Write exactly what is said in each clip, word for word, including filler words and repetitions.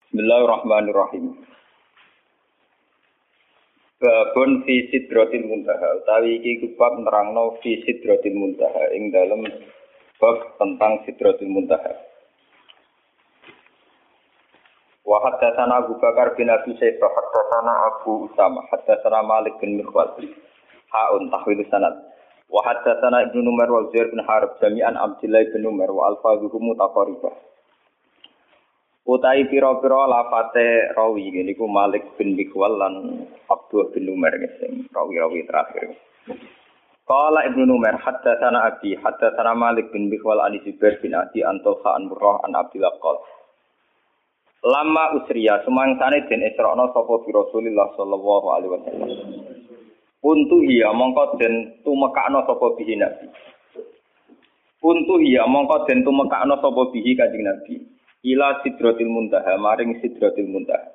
Bismillahirrahmanirrahim. Babun fi sidratil muntaha. Utawi iki bab nerangno fi sidratil muntaha ing dalem bab tentang sidratil muntaha. Wa haddatsana Abu Bakar bin Abi Syaibah haddatsana Abu Usama haddatsana Malik bin Mirwal. Ha'un tahwil sanad. Wa haddatsana Ibnu Umar wa Zaid bin Harb jami'an Abdullah bin Umar wa alfazuhum mutaqarribah. Utai pira-pira lafate rawi niku Malik bin Mikwal lan Abdullah bin Umar sing rawi-rawi terakhir. Qala Ibnu Umar haddatsana Abi haddatsana Malik bin Mikwal an Zubair bin Adi an Talha an Murrah an Abdullah qol. Lama usriya sumangsane den Isra'na sapa bi Rasulillah sallallahu alaihi wasallam. Untu iya mongko den tumekakno sapa bihi Nabi. Untu iya mongko den tumekakno sapa bihi Kanjeng Nabi. Ila sidratil muntaha maring sidratil muntaha.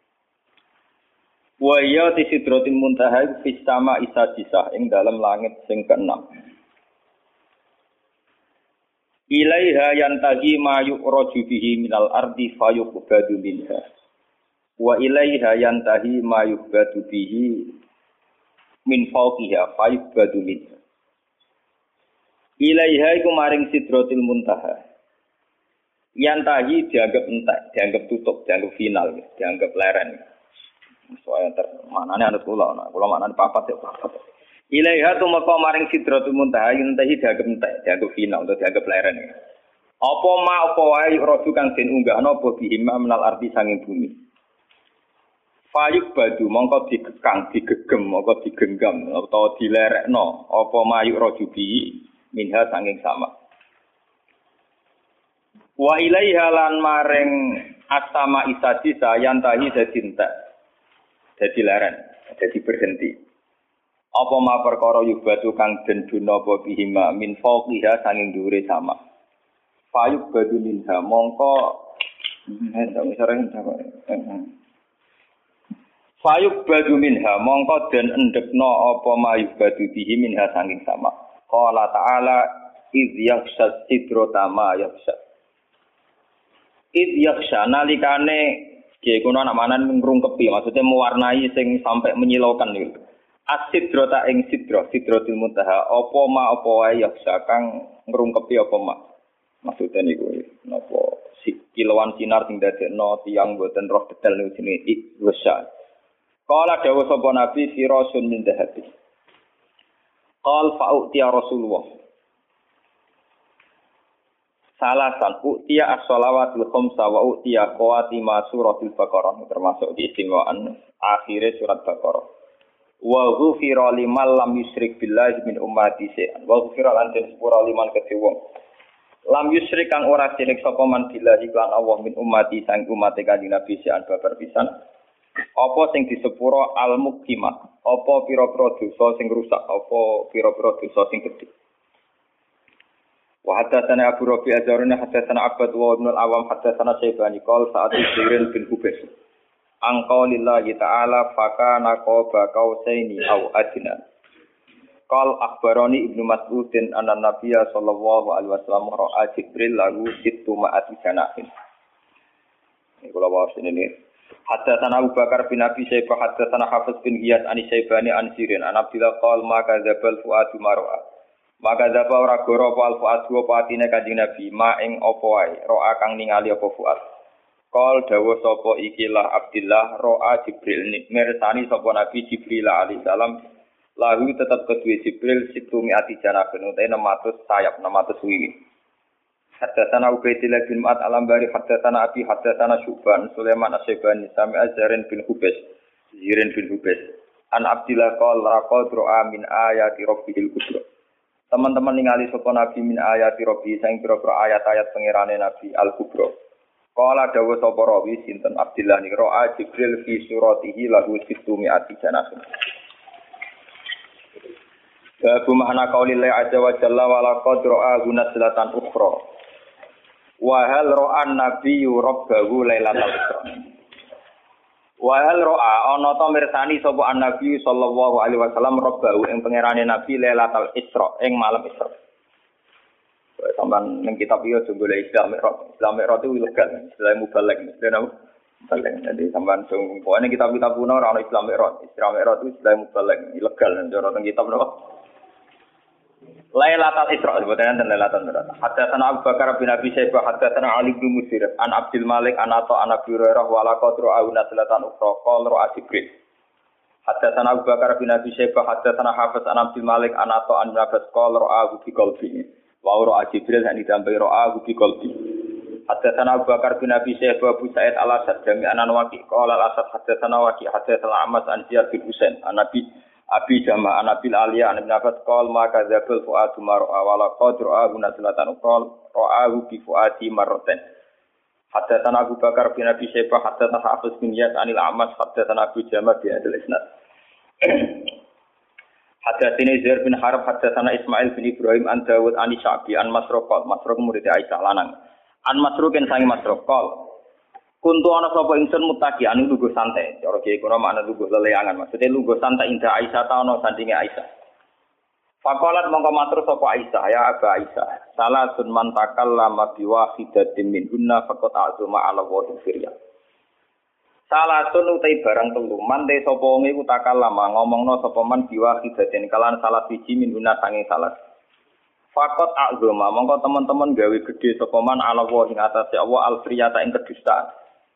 Wa ya ti sidratil muntaha fis sama isadisah ing dalam langit sing keenam. Ilaiha yantahi ma yu'raju bihi minal ardi fayuqbadu minha. Wa ilaiha yantahi ma yuqbadu bihi min fawqiha fayuqbadu minha. Ilaiha iku maring sidratil muntaha. Yantahi dianggap entek, dianggap tutup, dianggap final, dianggap leren. Soalnya ter manane anut kula, nah kula manane papat ya papat. Ilaiha tumeka maring sidratul muntaha yantahi dianggap entek, dianggap final atau dianggap leren. Apa ma apa wae roju kang den unggahna apa bihima menal arti sanging bumi. Fayuk badu mongko digekang, digegem, mongko digenggam utawa dilerekno apa mayuk roju bi minha sanging sama. Wa ilaiha lan maring asama isadisa yantahi dadi entek. Dadi leren, dadi berhenti. Apa ma perkara yubatu kang den duna apa bihima min fawqiha sanging dhuwure sama. Fayuk badu minha mongko hendak sering Fayuk badu minha mongko den endekno apa ma yubatu bihi minha sanging sama. Qala ta'ala idz yakhsha sidrata ma yakhsha. Id yaksha nalikane nggih kuna anak manan ngrungkepi maksudnya mewarnai sing sampai menyilaukan niku. As-sidrata ing sidra sidratul muntaha apa ma apa wae yaksha kang ngrungkepi apa ma. Maksudnya niku napa si kilauan sinar sing dadekno tiyang boten roh detail niku jenenge id yaksha. Qala dawuh sapa nabi firasun min dhahabi. Qal fa'uti ya Rasulullah. Salasan u'tiya as-shalawatul khamsa wa u'tiya qawatima suratul Baqarah termasuk di istimewaan akhir surat Baqarah. Wa ghufira liman lam yusyrik billahi min ummati shay'an. Wa ghufira lan den sepura liman kedhe wong. Lam yusyrik kang ora syirik sapa man billahi lan Allah min ummati sang umat Kanjeng Nabi shay'an babar pisan. Apa sing disepura al-muqimat? Apa pira-pira dosa sing rusak? Apa pira-pira dosa sing gedhe? Wa haddatsana Abu Rabi' azaruna haddatsana Abbad wa Ibnu al-Awam haddatsana Syaibani qol sa'at Jibril bin Hubais angqa lillahi ta'ala fakana qaba qausaini aw adna qal akhbarani Ibnu Mas'udin anna Nabiyya sallallahu alaihi wasallam ra'a Jibril lahu sittu ma'ati janahin. Ini kula waos ini haddatsana Abu Bakar bin Abi Syaibah haddatsana Hafiz bin Ghiyas an Syaibani an Sirin an Abdillah qal ma kadzabal fuadu mar'a. Maka dapa ora goro apa al-fuad wa patine Kanjeng Nabi ma ing apa wae roa kang ningali apa fuad. Qol dawuh sapa ikilah Abdillah roa Jibril mirsani sapa Nabi Jibril alaihi salam lahu tetep kedue Jibril situ miati janabun utahe enam ratus sayap enam ratus wiwi. Haddatsana Ubaidillah bin Ma'ad al-Ambari haddatsana Abi haddatsana Syuban Sulaiman as-Saibani sami Azharin bin Hubais Zirin bin Hubais an Abdillah qol raqad roa min ayati rabbil kubra. Teman-teman ningali sapa Nabi min ayati Rabbi sing pira-pira ayat-ayat pangerane Nabi Al-Kubra. Qala dawuh sapa rawi sinten Abdillah ni ra'a Jibril fi suratihi lahu sittu mi'ati janah. Babu makna qaulillah azza wa jalla wa laqad ra'a gunaslatan ukhra. Wa hal ra'an nabiyyu rabbahu lailatal isra. Wa hal ra'a ana ta mirsani sapa an-nabi sallallahu alaihi wasallam rabbahu ing pangerane nabi lailatul isra ing malam isra. Sampeyan ning kitab iki aja golek Islam Mi'raj. Islam Mi'raj itu ilegal, istilah mubalek. Istilah Mubalek. Jadi sampean sing pokoknya kitab-kitab kuno ora ono Islam Mi'raj. Islam Mi'raj itu istilah mubalek, ilegal cara teng kitab napa. Lailatul Isra sebutane dan Lailatul Mi'raj. Hadatsana Abu Bakar bin Abi Syaibah hadatsana Ali bin Musir an Abdul Malik an Atha an Abi Hurairah wa la qadru auna salatan ukhra qala ra Jibril. Hadatsana Abu Bakar bin Abi Syaibah hadatsana Hafiz an Abdul Malik an Atha an Nafas qala ra bi qalbi. Wa ra Jibril han ditambahi ra bi qalbi. Hadatsana Abu Bakar bin Abi Syaibah Abu Sa'id al-Asad jami'an an Waqi qala al-Asad hadatsana Waqi hadatsana Ahmad an Ziyad bin Husain an Nabi Abi Jama' an Abil Aliyah an Ibn Abbas qala maka dzabul fuadu mar'a wala qadra guna salatan qala ra'ahu bi fuadi marratan. Hadatsana Abu Bakar bin Abi Syaibah hadatsana Hafiz bin Yas anil A'mas hadatsana Abu Jama' bi hadal isnad. Hadatsana Zaid bin Harb hadatsana Ismail bin Ibrahim an Dawud an Syabi an Masruq Masruq murid Aisyah lanang. An Masruqin sangi Masruq qala kuntu ana sapa ingsun mutaki anu lungguh santai. Cara kiye kono makna lungguh leleangan. Maksudnya lungguh santai indah Aisyah ta ana sandinge Aisyah. Faqalat mongko matur sapa Aisyah ya Aba Aisyah. Salah sun man takallama bi wahidatin min hunna faqat azuma ala wa firya. Salah sun utai barang telu man te sapa wong iku takallama ngomongno sapa man bi wahidatin kalan salah siji min hunna sange salah. Faqat azuma mongko teman-teman gawe gede sapa man ala wa ing atase Allah al firyata ing kedustaan.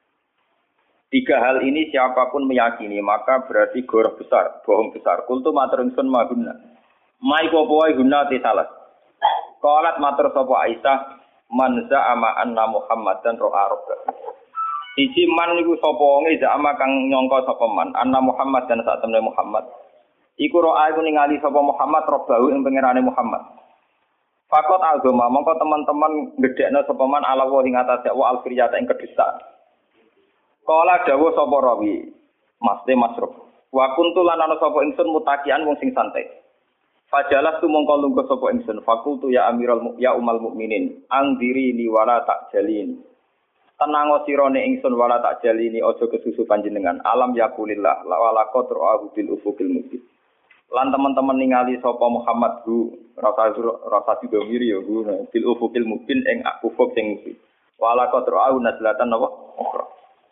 Tiga hal ini siapapun meyakini maka berarti goroh besar, bohong besar. Kultu matur ingsun maguna. Mai popo wae guna ti salah. Qalat matur sapa Aisyah man za'ama anna Muhammadan ro'a rabba. Siji man niku sapa wonge za'ama kang nyangka sapa man anna Muhammad dan sak temne Muhammad. Iku ro'a iku ningali sapa Muhammad robbahu ing pangerane Muhammad. Fakot agama mongko teman-teman gedhekno sapa man ala wa ing atase wa al-firyata ing kedustaan. Kala dawuh sapa rawi, Mas de Masruf. Wa kuntu lan ana sapa ingsun mutakian wong sing santai. Fajalas tu mongko lungguh sapa ingsun. Fakultu ya Amirul ya Umal Mukminin, angdiri ni wala tak jalin. Tenang sirane ingsun wala tak jalini aja kesusu panjenengan. Alam yakulillah la wala qadru ahu bil ufukil mubin. Lan teman-teman ningali sapa Muhammad hu rasa rasa didomiri ya hu bil ufukil mubin ing ufuk sing mubin. Wala qadru ahu nazlatan apa? Ukhra.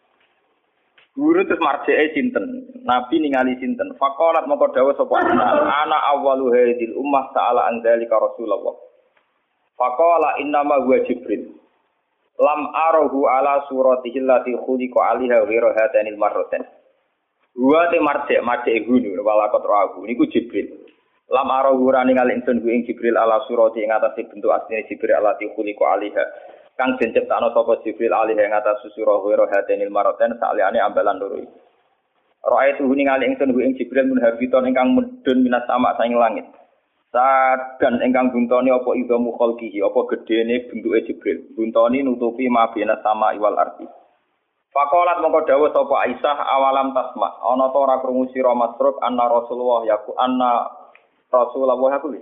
Guru terus marjee sinten, Nabi ningali sinten. Faqalat moko dawuh sapa ana awwalu hadil ummah ta'ala anzalika Rasulullah. Faqala innama huwa Jibril. Lam arahu ala suratihi allati khuliqa 'alaiha ghairu hadanil marratan. Huwa te marjee marjee gunu wala qatrahu niku Jibril. Lam arahu rani ningali ingsun ku ing Jibril ala surati ing atase bentuk asline Jibril allati khuliqa 'alaiha. Kang den ciptakno sapa Jibril alih ing atas susura wira hadanil maraten saliyane ambalan loro iki. Ra'aitu ningali ingsun ing Jibril munhabiton ingkang mudhun minas sama saing langit. Sadan ingkang buntoni apa idhamu khalqihi apa gedene bentuke Jibril. Buntoni nutupi mabena sama iwal arti. Faqalat mongko dawuh sapa Aisyah awalam tasma ana ta ora krungu sira Masruk anna Rasulullah yaku anna Rasulullah yaku.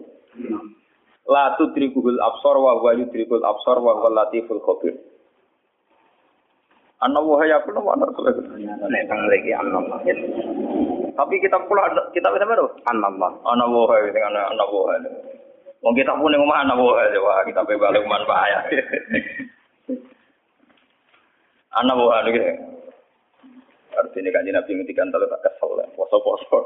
La tudrikul absar wa huwa yudrikul absar wa huwal latiful khabir. Ana wa ya kulo ana Rasulullah. Nek bang lagi Allah. Tapi kita pula kita bisa baru Allah. Ana wa sing ana ana wa. Wong kita pun ning omah ana wa wah kita pe balik manfaat. Ana wa iki. Artinya kanjeng Nabi ngendikan telu tak kesel poso-poso.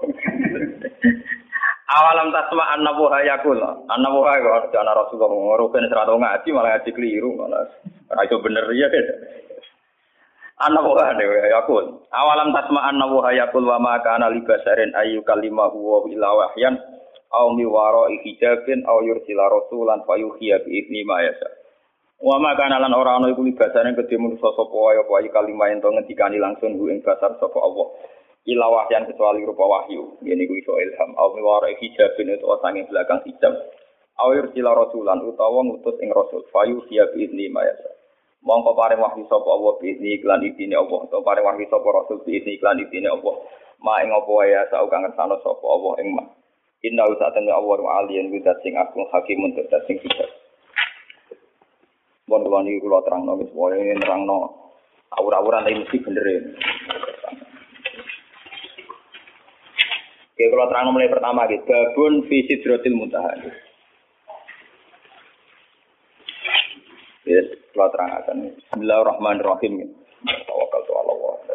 Awalam tasma annahu hayakul. Annahu hayakul ana Rasulullah ngoruken serata ngaji malah ngaji keliru malah. Ora iso bener ya. Annahu hayakul. Awalam tasma annahu hayakul wa ma kana libasarin ayu kalimahu wa ila wahyan aw mi wara'i hijabin aw yursila rasulan fayuhiya bi idni ma yasa. Wa ma kana lan ora ana iku libasarin kedhe manusa sapa wae apa kalimah ento ngendikani langsung ku ing basar sapa Allah. Ila wahyan kecuali rupa wahyu. Ngene kuwi iso ilham. Au miwara hijabin itu sange belakang hijab. Awir sila rasulan utawa ngutus ing rasul. Fayu siya biizni mayasa. Mongko paring wahyu sapa Allah biizni iklan idine Allah. Utawa paring wahyu sapa rasul biizni iklan idine Allah. Ma ing apa wae sak kang ngersano sapa Allah ing ma. Inna usatane Allah aliyan widat sing agung hakimun widat sing bijak. Mon kula niki kula terangno wis wae nerangno awur-awuran iki mesti bener. Oke, kalau terang mulai pertama gitu, babun fi sidratil muntaha. Yes, kalau terang akan Bismillahirrahmanirrahim. Tawakkaltu 'ala Allah.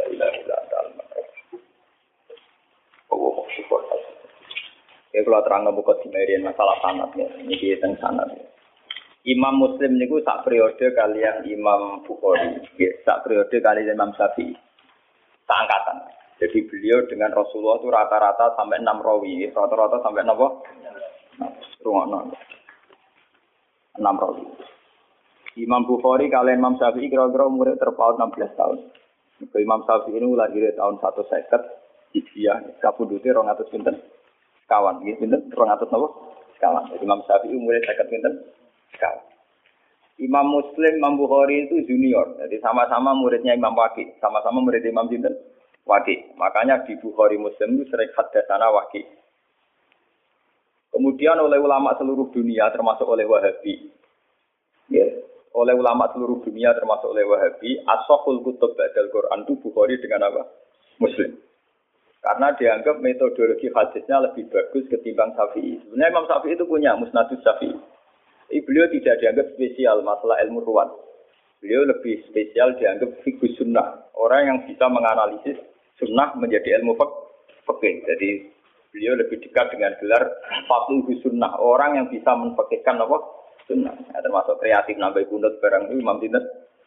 Ya kalau terang buka dimerian masalah sanad ya, ini tentang sanad. Imam Muslim niku sak periode kalian Imam Bukhari, ya, sak periode kalian Imam Syafi'i, sak angkatan. Jadi beliau dengan Rasulullah itu rata-rata sampai enam rawi, rata-rata sampai enam apa? Rungono. enam rawi. Imam Bukhari kalian Imam Syafi'i kira-kira umurnya terpaut enam belas tahun. Imam Syafi'i ini lahir tahun seratus seket Hijriah, kapundhute dua ratus pinten? Kawan, nggih pinten? dua ratus napa? Kawan. Imam Syafi'i umurnya seket pinten? Kawan. Imam Muslim, Imam Bukhari itu junior. Jadi sama-sama muridnya Imam Waqi, sama-sama murid Imam pinten? Waqi. Makanya di Bukhari Muslim itu sering hadatsana Waqi. Kemudian oleh ulama seluruh dunia termasuk oleh Wahabi. Ya, oleh ulama seluruh dunia termasuk oleh Wahabi, as-sahhul kutub ba'dal Quran itu Bukhari dengan apa? Muslim. Karena dianggap metodologi hadisnya lebih bagus ketimbang Syafi'i. Sebenarnya Imam Syafi'i itu punya Musnadus Syafi'i. Beliau tidak dianggap spesial masalah ilmu ruwat. Beliau lebih spesial dianggap fikih sunnah. Orang yang bisa menganalisis sunnah menjadi ilmu fikih. Jadi beliau lebih dekat dengan gelar faqih sunnah. Orang yang bisa menfikihkan apa? Sunnah. Ya, termasuk kreatif nambah kunut barang itu Imam Tindas.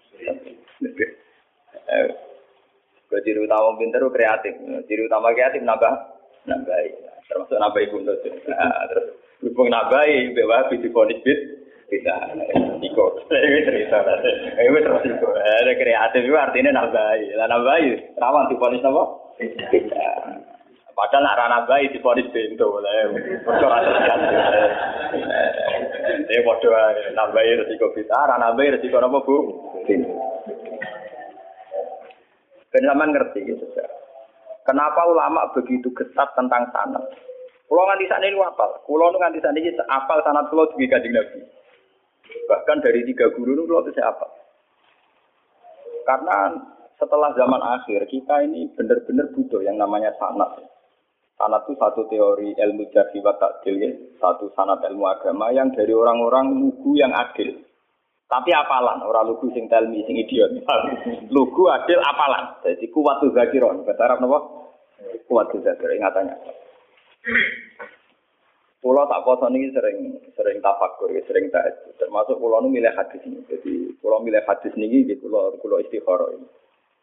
Eh, ciri utama pinter itu kreatif. Ciri utama kreatif nambah nambah. Termasuk nambah kunut. Nah, terus hubung nambah bawa biji ponis bit. Bisa, ikut. Ini cerita. Ini terus ikut. Ada kreatif itu artinya nambahi. Lah nambahi, rawan di polis apa? Bisa. Padahal nak rana bayi di polis bento. Bocor aja kan. Eh, bodoh. Nambahi resiko bisa. Rana bayi resiko apa bu? Penjaman ngerti gitu. Kenapa ulama begitu ketat tentang sanad? Kulo nganti sakniki niku apal. Kulo nu nganti sakniki apal sanad kulo dugi Kanjeng Nabi. Bahkan dari tiga guru itu kulo bisa apal. Karena setelah zaman akhir kita ini benar-benar butuh yang namanya sanad. Sanad itu satu teori ilmu jarh wa ta'dil, ya. Satu sanad ilmu agama yang dari orang-orang lugu yang adil. Tapi apalan, orang lugu sing telmi sing idiot. Lugu adil apalan. Jadi kuwatu zakiron. Bahasa Arab napa? Kuwatu zakiron ingatannya. Pulau tak poso ini sering sering tafakur, sering tak termasuk pulau nu milih hadis ini. Jadi pulau milih hadis ini di pulau pulau istikharah ini.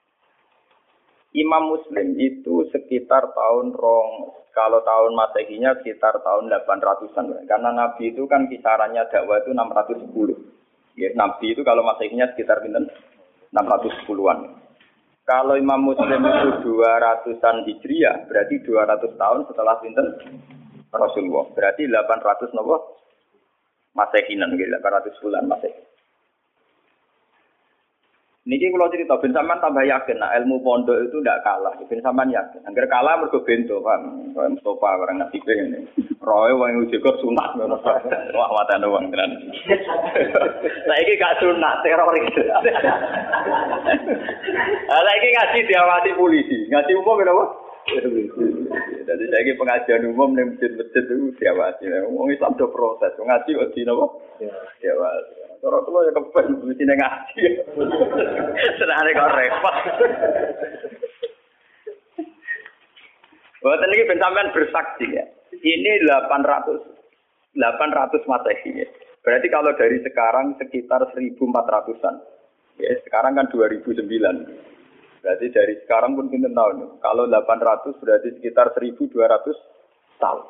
Imam Muslim itu sekitar tahun rong, kalau tahun Masehinya sekitar tahun delapan ratusan. Karena Nabi itu kan kisarannya dakwah itu enam ratus sepuluh. Ya, Nabi itu kalau Masehinya sekitar enam ratus sepuluhan. Kalau Imam Muslim itu dua ratusan Hijriah, berarti dua ratus tahun setelah pinten Rasulullah. Berarti delapan ratus nopo Masehinan, delapan ratus bulan Masehi. Niki kalau cerita ben sampean tambah yakin nah ilmu pondok itu ndak kalah. Ben sampean yakin. Angger kalah mergo bento, Pak. Kaya Mustofa barang nasi ngene. Roe wong juga sunat ngono. Wah, watane wong tenan. Saiki gak sunat teroris. Lah iki ngaji diawasi polisi. Ngaji umum kenapa? Jadi saiki pengajian umum ning masjid-masjid itu diawasi. Wong Islam do proses. Ngaji kok di napa? Diawasi. Orang tua yang kepen, mesti ngaji. Senangnya kau repot. Buat ini pensampean bersaksi ya. Ini delapan ratus Masehi ya. Berarti kalau dari sekarang sekitar seribu empat ratusan. Ya, sekarang kan dua ribu sembilan. Berarti dari sekarang pun kita tahu. Kalau delapan ratus berarti sekitar seribu dua ratus tahun.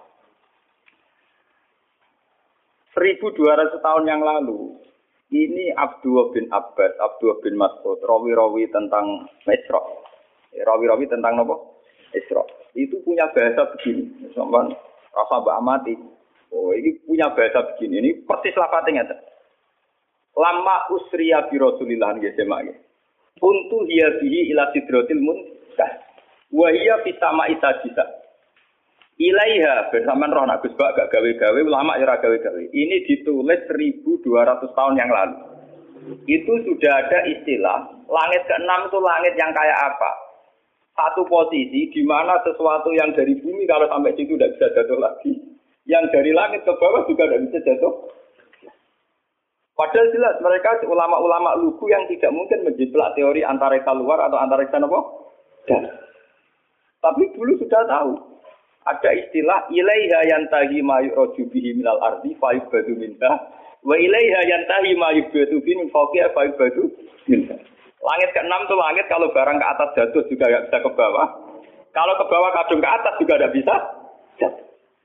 seribu dua ratus tahun yang lalu. Ini Abdullah bin Abbas, Abdullah bin Mas'ud, rawi-rawi tentang Isra. Rawi-rawi tentang apa? Isra. Itu punya bahasa begini. Sampeyan rasa mbak amati. Oh, ini punya bahasa begini. Ini persis lafadznya. Lama usriya bi Rasulillah nggih semak. Untu hiya bihi ila sidratil muntaha. Wa hiya fi sama'i sadisa. Ilaiha bersamaan roh nak Gus Bak gak gawe-gawe ulama ya ora gawe-gawe. Ini ditulis seribu dua ratus tahun yang lalu. Itu sudah ada istilah langit keenam itu langit yang kayak apa? Satu posisi di mana sesuatu yang dari bumi kalau sampai situ tidak bisa jatuh lagi. Yang dari langit ke bawah juga tidak bisa jatuh. Padahal jelas mereka ulama-ulama lugu yang tidak mungkin menjiplak teori antariksa luar atau antariksa apa? Dan. Tapi dulu sudah tahu. Ada istilah ilaiha yantahi ma yu'raju bihi minal ardi fa yubadu minha wa ilaiha yantahi ma yubadu bihi min fawqiha fa yubadu minha. Langit keenam itu langit kalau barang ke atas jatuh juga enggak bisa ke bawah. Kalau ke bawah kadung ke atas juga enggak bisa jatuh.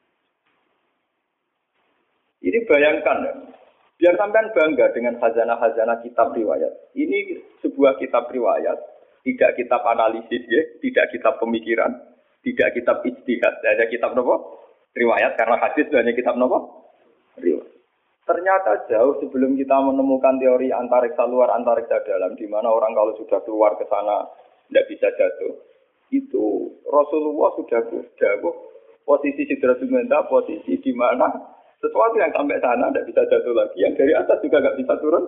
Ini bayangkan ya. Biar sampean bangga dengan khazanah-khazanah kitab riwayat. Ini sebuah kitab riwayat, tidak kitab analisis ya, tidak kitab pemikiran. Tidak kitab ijtihad, hanya kitab nopo? Riwayat, karena hadis hanya kitab nopo? Riwayat. Ternyata jauh sebelum kita menemukan teori antariksa luar, antariksa dalam, di mana orang kalau sudah keluar ke sana tidak bisa jatuh. Itu Rasulullah sudah jauh posisi Sidratul Muntaha, posisi di mana sesuatu yang sampai sana tidak bisa jatuh lagi, yang dari atas juga nggak bisa turun.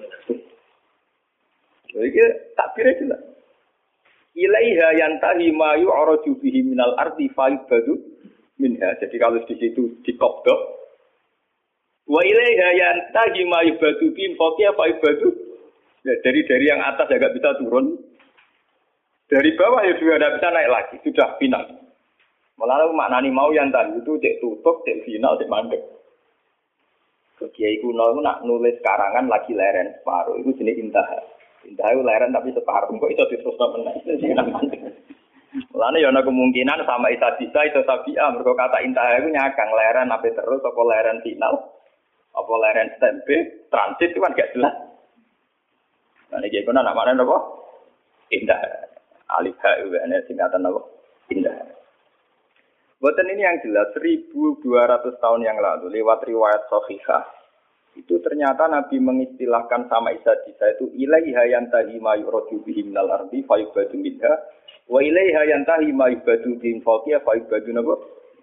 Jadi takbirnya jelas. Ilaiha yantahi ma yu'raju bihi minal ardi fa yubadu minha. Jadi kalau di situ dikobdok. Wa ilaiha yantahi ma yubadu bihi fawqiha fa yubadu. Ya, dari dari yang atas agak bisa turun. Dari bawah ya juga tidak bisa naik lagi, sudah final. Malah maknani mau yang tadi itu cek tutup, cek final, cek mandek. Kiai kuno itu nak nulis karangan lagi leren separuh, itu jenis intah. Intah itu leren tapi separuh, kok itu diteruskan menang. Mulane ya ana kemungkinan sama isa bisa itu tabi'ah mergo kata intah itu nyakang leren apa terus apa leren final apa leren stempe transit itu kan gak jelas. Nah iki kono nak maknane apa? Indah. Alif ha itu ana singkatan apa? Indah. Boten ini yang jelas seribu dua ratus tahun yang lalu lewat riwayat sahihah. Itu ternyata Nabi mengistilahkan sama Isa Isa itu ilaiha yantahi ma yuradu bihi minal ardi fa yubadu minha wa ilaiha yantahi ma yubadu bihi fawqiha fa yubadu nabo.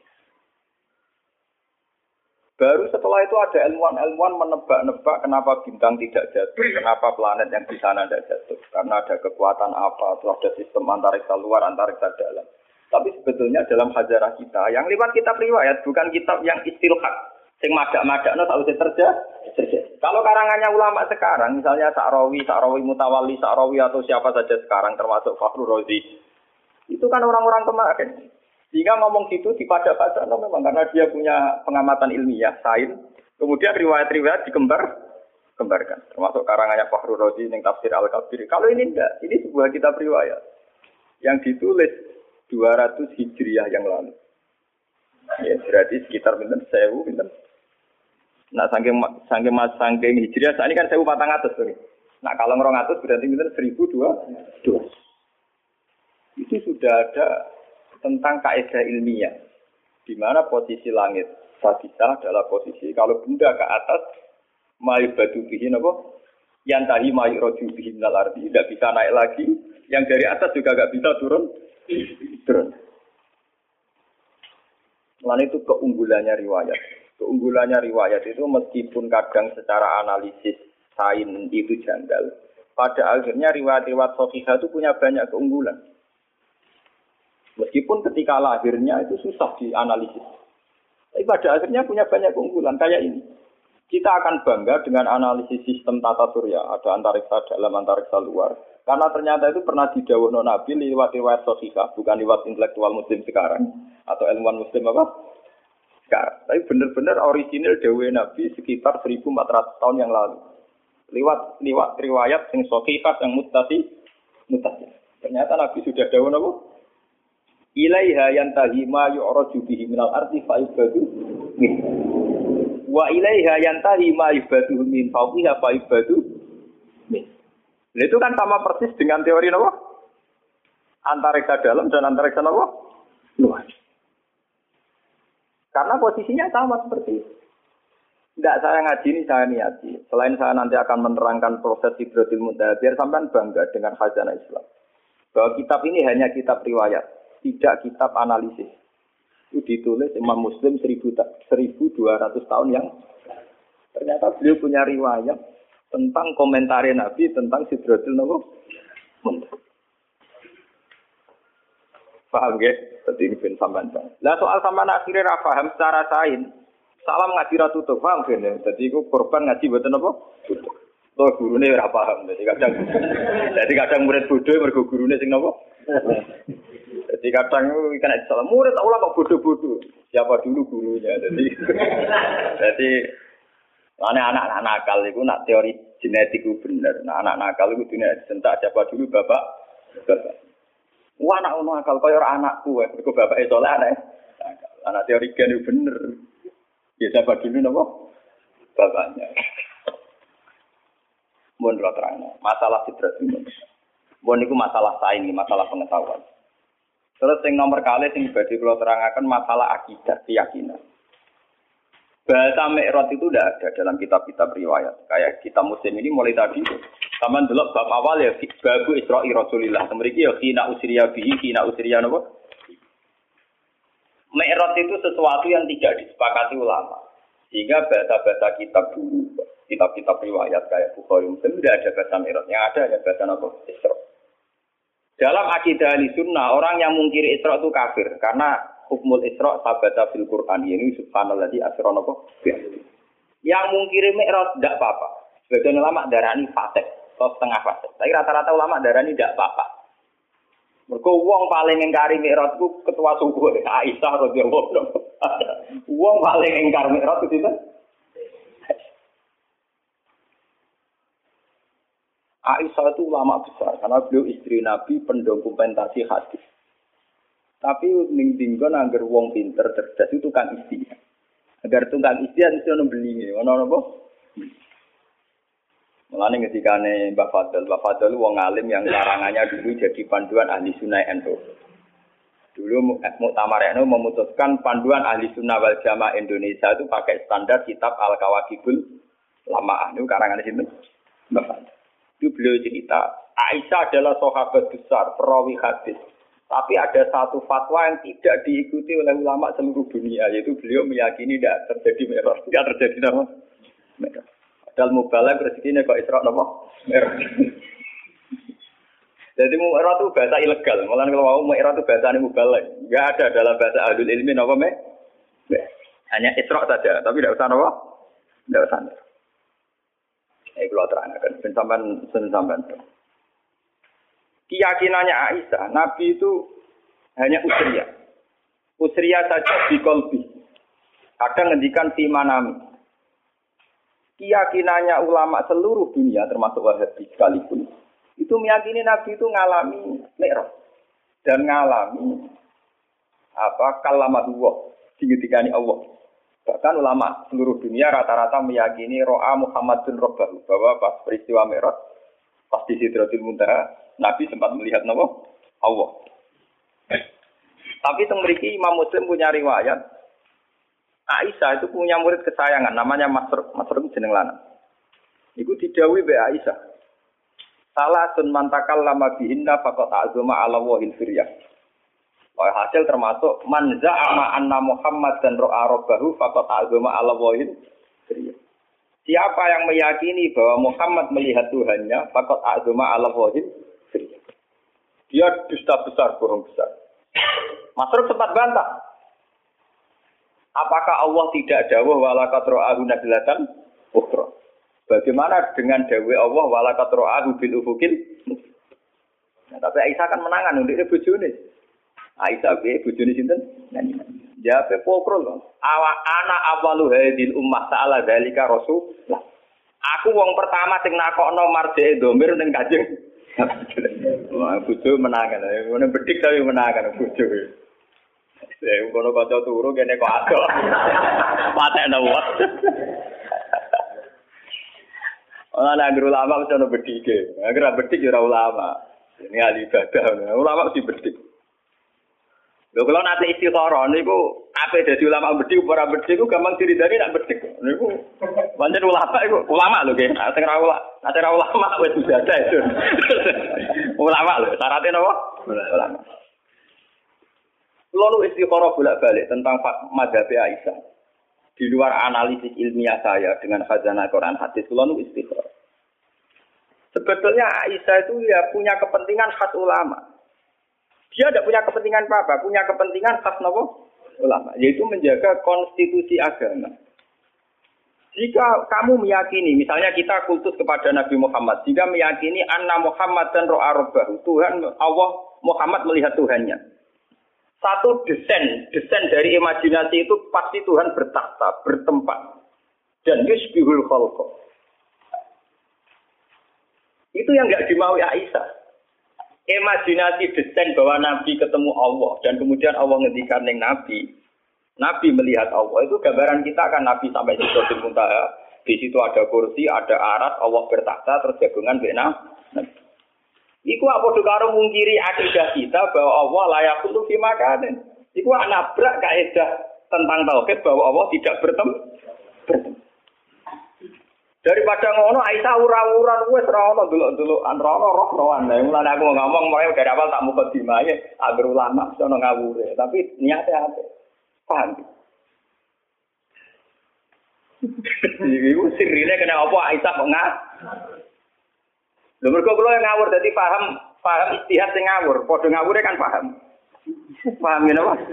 Baru setelah itu ada ilmuwan-ilmuwan menebak-nebak kenapa bintang tidak jatuh, kenapa planet yang di sana tidak jatuh. Karena ada kekuatan apa, atau ada sistem antariksa luar, antariksa dalam. Tapi sebetulnya dalam hajarah kita, yang lewat kitab riwayat, bukan kitab yang istilhaq. Sing madak-madak no tak usah terjadi. Kalau karangannya ulama sekarang, misalnya Sa'rawi, Sa'rawi Mutawalli, Sa'rawi atau siapa saja sekarang termasuk Fakhrur Razi, itu kan orang-orang kemarin. Sehingga ngomong gitu dipada-pada no, memang karena dia punya pengamatan ilmiah, sains. Kemudian riwayat-riwayat dikembar, kembarkan. Termasuk karangannya Fakhrur Razi yang tafsir Al-Kabir. Kalau ini enggak, ini sebuah kitab riwayat yang ditulis dua ratus Hijriah yang lalu. Ya, berarti sekitar pinten sewu pinten. Nah, saking saking mas saking Hijriah saat ini kan sewu patang atas tuh. Nah, kalau ngerong atas berarti pinten seribu dua dua. Itu sudah ada tentang kaidah ilmiah, di mana posisi langit sabita adalah posisi kalau benda ke atas mayu batu bihin apa? Yang tadi mayu roju bihin nalardi tidak bisa naik lagi, yang dari atas juga nggak bisa turun turun. Lain itu keunggulannya riwayat. Keunggulannya riwayat itu meskipun kadang secara analisis sains itu janggal, pada akhirnya riwayat-riwayat sahihah itu punya banyak keunggulan. Meskipun ketika lahirnya itu susah dianalisis, tapi pada akhirnya punya banyak keunggulan kayak ini. Kita akan bangga dengan analisis sistem tata surya, ada antariksa dalam, antariksa luar. Karena ternyata itu pernah didhawuhno Nabi lewat riwayat sahihah, bukan lewat intelektual muslim sekarang atau ilmuwan muslim apa? Sekarang. Tapi benar-benar orisinil dawuh Nabi sekitar seribu empat ratus tahun yang lalu. Lewat lewat riwayat yang sahihah yang muttasi muttasi. Ternyata Nabi sudah dawuh napa? Ilaiha yantahi ma yu'raju bihi minal ardi fa yubadu min. Wa ilaiha yantahi ma yubadu min fawqiha fa yubadu min. Itu kan sama persis dengan teori apa? Antariksa dalam dan antariksa apa? Luar. Karena posisinya sama seperti itu. Tidak saya ngaji ini, saya niati. Selain saya nanti akan menerangkan proses Sidratul Muntaha, biar sampean bangga dengan khazanah Islam. Bahwa kitab ini hanya kitab riwayat, tidak kitab analisis. Itu ditulis Imam Muslim seribu dua ratus tahun yang ternyata beliau punya riwayat tentang komentar Nabi tentang Sidratul Muntaha. Paham ya? Seperti ini bin sampean. Lah soal sampean akhirnya ra paham secara sains. Salam ngaji ra tutup, paham kan? Dadi iku korban ngaji mboten apa? Tutup. Loh gurune ora paham. Dadi kadang Dadi kadang murid bodho mergo gurune sing napa? Dadi kadang kena salah murid ulama kok bodoh-bodoh. Siapa dulu gurunya. Jadi jadi anak-anak nakal itu nak teori genetik itu bener. Nah anak nakal itu dunia sentak siapa dulu bapak. Bapak. Wah anak nakal kaya ora anakku wae. Mergo bapake saleh anak. Anak teori gen itu bener. Ya siapa dulu napa? Bapaknya. Mun lo terang. Masalah fitrah itu. Mun niku masalah sains, masalah pengetahuan. Terus yang nomor kali sing badhe kula terangaken masalah akidah, keyakinan. Bahasa Mi'raj itu tidak ada dalam kitab-kitab riwayat. Kayak kita Muslim ini mulai tadi sampean delok bab awal ya bab Isra'i Rasulillah. Mriki ya khina usriya bihi, khina usriya napa? Mi'raj itu sesuatu yang tidak disepakati ulama. Sehingga bahasa-bahasa kitab dulu, kitab-kitab riwayat kayak Bukhari Muslim tidak ada bahasa Mi'raj. Yang ada ya bahasa napa? Isra'. Dalam akidah Ahlussunnah, orang yang mungkiri Isra itu kafir karena hukmul Isra sabata fil Quran ini subhanalladzi asra napa. Yang mungkiri Mi'raj tidak apa-apa. Sebagian ulama darani fasik atau setengah fasik. Tapi rata-rata ulama darani tidak apa-apa. Mergo wong paling ngingkari Mi'raj ku ketua suku Aisyah radhiyallahu anha. Wong paling ngingkar Mi'raj itu sinten? Aisyah itu ulama besar karena beliau istri Nabi pendokumentasi hadis. Tapi ning dinggon angger wong pinter cerdas itu tukang istilah. Agar tukang istilah mesti ono beli, ono apa? Mulane ketikane Mbak Fadl, Mbak Fadl wong alim yang karangannya dulu jadi panduan ahli sunnah N U. Dulu Muktamar N U memutuskan panduan ahli sunnah wal jamaah Indonesia itu pakai standar kitab Al-Kawakibul Lamaah. Itu karangan sini Mbak Fadl. Itu beliau cerita, Aisyah adalah sahabat besar, perawi hadis. Tapi ada satu fatwa yang tidak diikuti oleh ulama seluruh dunia, yaitu beliau meyakini tidak terjadi Mi'raj. Tidak terjadi apa? Mi'raj. Padahal mubalagh rezekinya kok Isra apa? Mi'raj. Jadi Mi'raj itu bahasa ilegal. Malah kalau mau Mi'raj itu bahasa mubalagh. Tidak ada dalam bahasa ahlul ilmi apa me? Hanya Isra saja, tapi tidak usah apa? Tidak usah. Ini kalau terangkan, sampai sampai. Keyakinannya Aisyah, Nabi itu hanya usriya, usriya saja di kolbi. Kadang ngendikan fi manami. Keyakinannya ulama seluruh dunia, termasuk Wahabi sekalipun, itu meyakini Nabi itu ngalami Mi'raj dan ngalami apa kalamatullah, digetikani Allah. Bahkan ulama seluruh dunia rata-rata meyakini ro'a Muhammadun Rabbahu, bahwa pas peristiwa Mi'raj, pas di Sidratul Muntaha, Nabi sempat melihat nama Allah. Tapi teng mriki Imam Muslim punya riwayat, Aisyah itu punya murid kesayangan, namanya Masruq, Masruq jeneng lanang. Iku didhawuhi mbek Aisyah. Salasun mantakal lama bihinna faqat azuma ala wahil firyah. Oh, hasil termasuk man za'ama anna Muhammad dan ro'a rabbahu faqad azama ala wahid. Siapa yang meyakini bahwa Muhammad melihat Tuhannya, faqad azama ala wahid. Dia dusta besar, bohong besar. Masruk sempat bantah. Apakah Allah tidak dawuh wala qad ra'ahu nazlatan ukhra? Bagaimana dengan dawuh Allah wala qad ra'ahu bil ufukil? Nah, tapi Aisyah kan menangan untuk bojone. Aisyah be bojone sinten? Jawabe pokro lho. Awa ana awalu hadil ummah ta'ala zalika rasul. Lah, aku wong pertama sing nakokno marjeke domir ning Kanjeng. Wah, bojo menangan. Ngono bedik tapi menangan bojo. Eh, kono kaca turu kene kok ado. Patekno wae. Ana nang ulama wis ono bedike. Agar bedik ya ora ulama. Ini ahli ibadah. Ulama mesti bedik. Lho kalau nanti istikharah niku ape dadi ulama bedik ora bedik ku gampang diridani nak bedik. Niku pancen ulama iku ulama lho nggih. Sing ora ulama, nek ora ulama wis ibadah itu. Ulama lho, syaratnya napa? Ulama. Lalu istikharah bolak-balik tentang mazhab Aisyah. Di luar analisis ilmiah saya dengan khazanah Quran hadis, lalu istikharah. Sebetulnya Aisyah itu ya punya kepentingan khas ulama. Dia tidak punya kepentingan apa-apa, punya kepentingan khas nopo ulama, yaitu menjaga konstitusi agama. Jika kamu meyakini, misalnya kita kultus kepada Nabi Muhammad, jika meyakini anna Muhammad dan ro'a rabbahu, Tuhan Allah Muhammad melihat Tuhannya. Satu desain, desain dari imajinasi itu pasti Tuhan bertakhta, bertempat. Dan yusbihul khalqa. Itu yang enggak dimaui Aisyah. Imajinasi desain bahwa Nabi ketemu Allah dan kemudian Allah ngendikan ning Nabi. Nabi melihat Allah itu gambaran kita kan Nabi sampai di Sidratul Muntaha. Di situ ada kursi, ada arat, Allah bertakhta terus jagungan bena. Iku apa karo mungkiri akidah kita bahwa Allah layak untuk fi makanin. Iku nabrak kaidah tentang tauhid bahwa Allah tidak bertemu. bertemu. Daripada ngono Aisyah ura-uran wis ora ono delok-delokan ora ono roh-rohan. Lah mulane aku ngomong mulai dari awal tak muka dimae agar ulama sono ngawure, tapi niate apik. Paham? Iku sirine kena apa Aisyah kok ngah? Lha mergo kula ngawur dadi paham, paham istihad sing ngawur, padha ngawure kan paham. Paham ngene apa?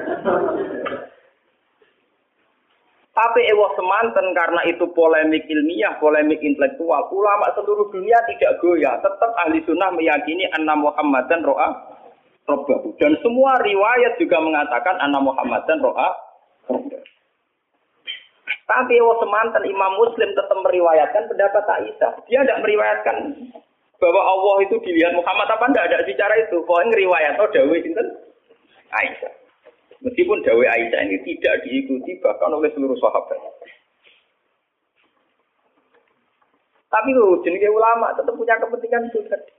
Tapi ewa semanten karena itu polemik ilmiah, polemik intelektual. Ulama seluruh dunia tidak goyah. Tetap ahli sunnah meyakini anna Muhammadan ro'a robbahu. Dan semua riwayat juga mengatakan anna Muhammadan ro'a robbahu. Tapi ewa semanten Imam Muslim tetap meriwayatkan pendapat Aisyah. Dia tidak meriwayatkan bahwa Allah itu dilihat Muhammad apa tidak ada bicara itu. Pokoknya riwayat oh dawuh sinten Aisyah. Meskipun dawai Aisyah ini tidak diikuti bahkan oleh seluruh sahabat. Tapi loh, jenenge ulama tetap punya kepentingan itu tadi.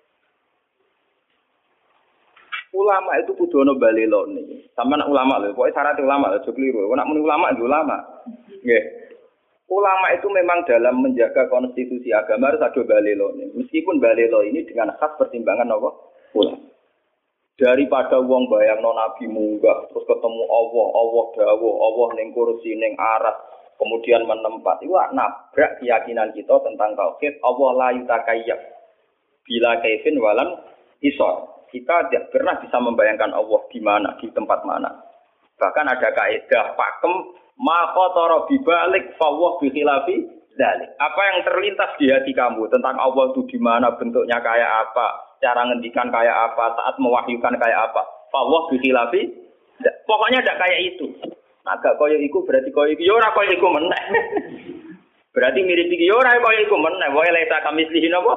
Ulama itu kudu ono balelo niki. Sampe nak ulama lho, pokoke syarat ulama lho, aja keliru. Nek muni ulama itu ulama. Nggih. Ulama itu memang dalam menjaga konstitusi agama harus ada balelo. Meskipun balelo ini dengan khas pertimbangan apa? Ulama. Daripada wong bayangno nabi munggah terus ketemu Allah, Allah dawuh, Allah ning kursi ning aras, kemudian menempat. Iku nabrak keyakinan kita tentang tauhid. Allah la yutakayyab bila kaifin walam isor. Kita tidak pernah bisa membayangkan Allah di mana, di tempat mana. Bahkan ada kaidah pakem ma qatara bibalik fawwah bi khilafi dzalik. Apa yang terlintas di hati kamu tentang Allah itu di mana, bentuknya kayak apa, cara ngendikan kayak apa, saat mewahyukan kayak apa. Fawwah bi khilafi. Pokoknya tidak kayak itu. Agak koyo iku berarti koyo iki yo ora koyo iku meneh. Berarti mirip iki yo ora koyo iku meneh. Wae leta kamislihi napa?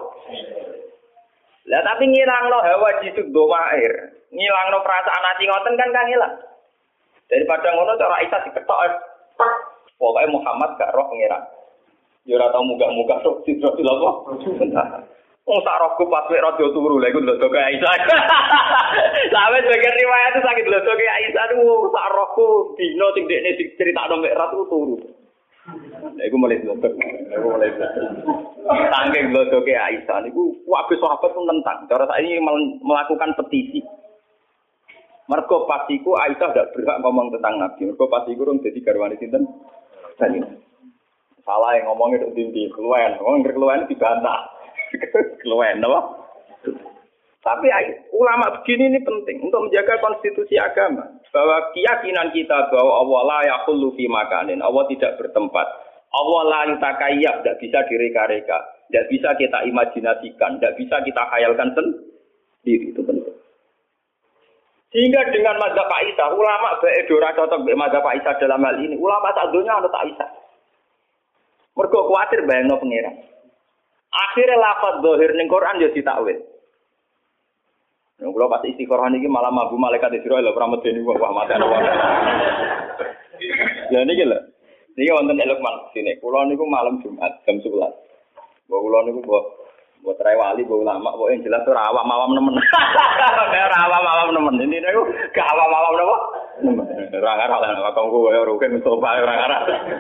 Lah tapi ngilangno hawa jisuk domair. Ngilangno perasaan ati ngoten kan kan ilang. Daripada ngono cara Aisyah diketok. Pokoke Muhammad gak roh pengiran. Yo ora tau munggah-munggah tok sidratil apa? Wong sak rohku pas wek rada turu lha iku ndodo ke Aisyah. Sampe sebagian riwayat itu sakit ndodo ke Aisyah niku sak rohku dino sing dekne diceritakno mek rat turu. Lha iku mulai ndodo. Lha iku mulai ndodo. Saking ndodo ke Aisyah niku kabeh sahabat pun nentang. Cara saiki melakukan petisi. Mergo pas iku Aisyah ndak berhak ngomong tentang Nabi. Mergo pas iku rung dadi garwane sinten? Tani. Salah yang ngomongnya tok ndi keluwen. Wong keluwen dibantah. Keluwen apa? Tapi ulama begini ini penting untuk menjaga konstitusi agama. Bahwa keyakinan kita bahwa Allah la yaqullu fi makanin, Allah tidak bertempat. Allah la yutakayyab, tidak bisa direka-reka, tidak bisa kita imajinasikan, tidak bisa kita khayalkan sendiri. Itu penting. Sehingga dengan mazhab Aisyah, ulama bae ora cocok mbek mazhab Aisyah dalam hal ini. Ulama sak donya ana Aisyah. Mergo kuwatir bayangno pangeran. Akhirnya lafaz zahir ning Quran yo ditakwil. Nek kula pas istikharah niki malah mabu malaikat Israil lho ora medeni wah mate ana wae. Ya niki lho. Niki wonten elok man sine. Kula niku malam Jumat jam sebelas. Mbok kula niku mbok mbok trai wali mbok ulama kok yang jelas ora awam-awam nemen. Ora awam-awam nemen. Ini niku gak awam-awam napa? Ora ngarah lan kakangku kaya rugen Mustafa ora ngarah.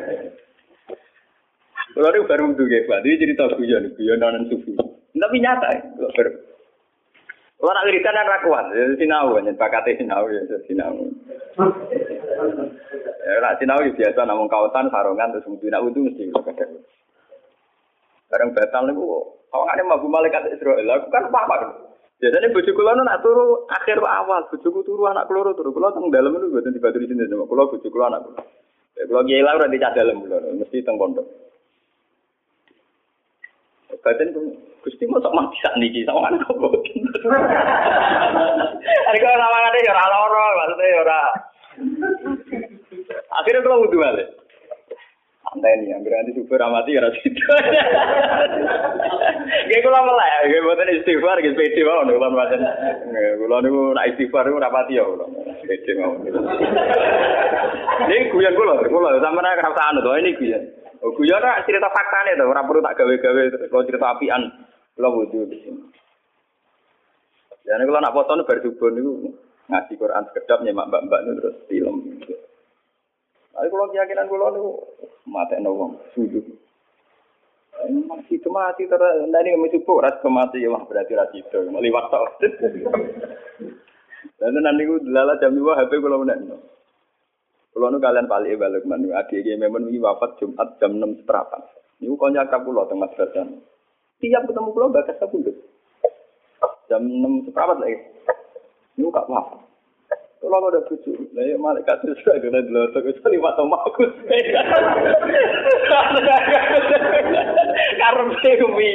Kalau itu baru menduga, Pak. Ini cerita guyon, guyon non sufi. Tapi nyata, baru. Kalau nak wiridan kan rakuan, sinau, nyen bakate sinau ya, sinau. Ya, nak sinau biasa namun kawasan sarungan terus mesti nak wudu mesti. Bareng batal niku, awakane mabuk malaikat Israil. Aku kan apa? Biasanya bojo kula nak turu akhir awal, bojoku turu anak kula turu. Kula teng dalem niku mboten dibaturi sinten sama kula bojo kula anak kula. Ya kula kiai lah ora dicak dalem kula, mesti teng pondok. Badan Gusti mosok mati sak niki sama anak kok. Ari kok lawangane ya ora lara, maksudnya ora. Akhirnya kalau wudu balik. Santai nih, hampir nanti super amati ya situ. Gak kula melek, gak buatan istighfar, gak pede mau nih kalau buatan. Kalau nih nak istighfar itu rapati ya, pede mau. Ini guyon kula, kula sama nak kerasaan tuh ini guyon. Guyon nak cerita fakta nih tuh, orang perlu tak gawe-gawe terus kalau cerita apian, kalau wudu di sini. Jadi kalau nak foto nih bersubun itu ngaji Quran sekedap nyemak mbak-mbak itu terus film. Tapi kalau keyakinan kalau itu mati nawang sujud. Masih itu mati terus dari kami cukup ras kemati ya berarti ras itu meliwat tau. Dan nanti aku lala jam dua H P kalau mana. Kalau nu kalian balik balik mana? Adik dia memang ini wafat Jumat jam enam seperempat. Ini kau nyakap pulau tengah selatan. Tiap ketemu pulau bakas aku dulu. Jam enam seperempat lagi. Ini kak wafat. Kalau aku udah cucu, nah malaikat itu sudah kena dilotok, itu lima tahun aku. Karena semi.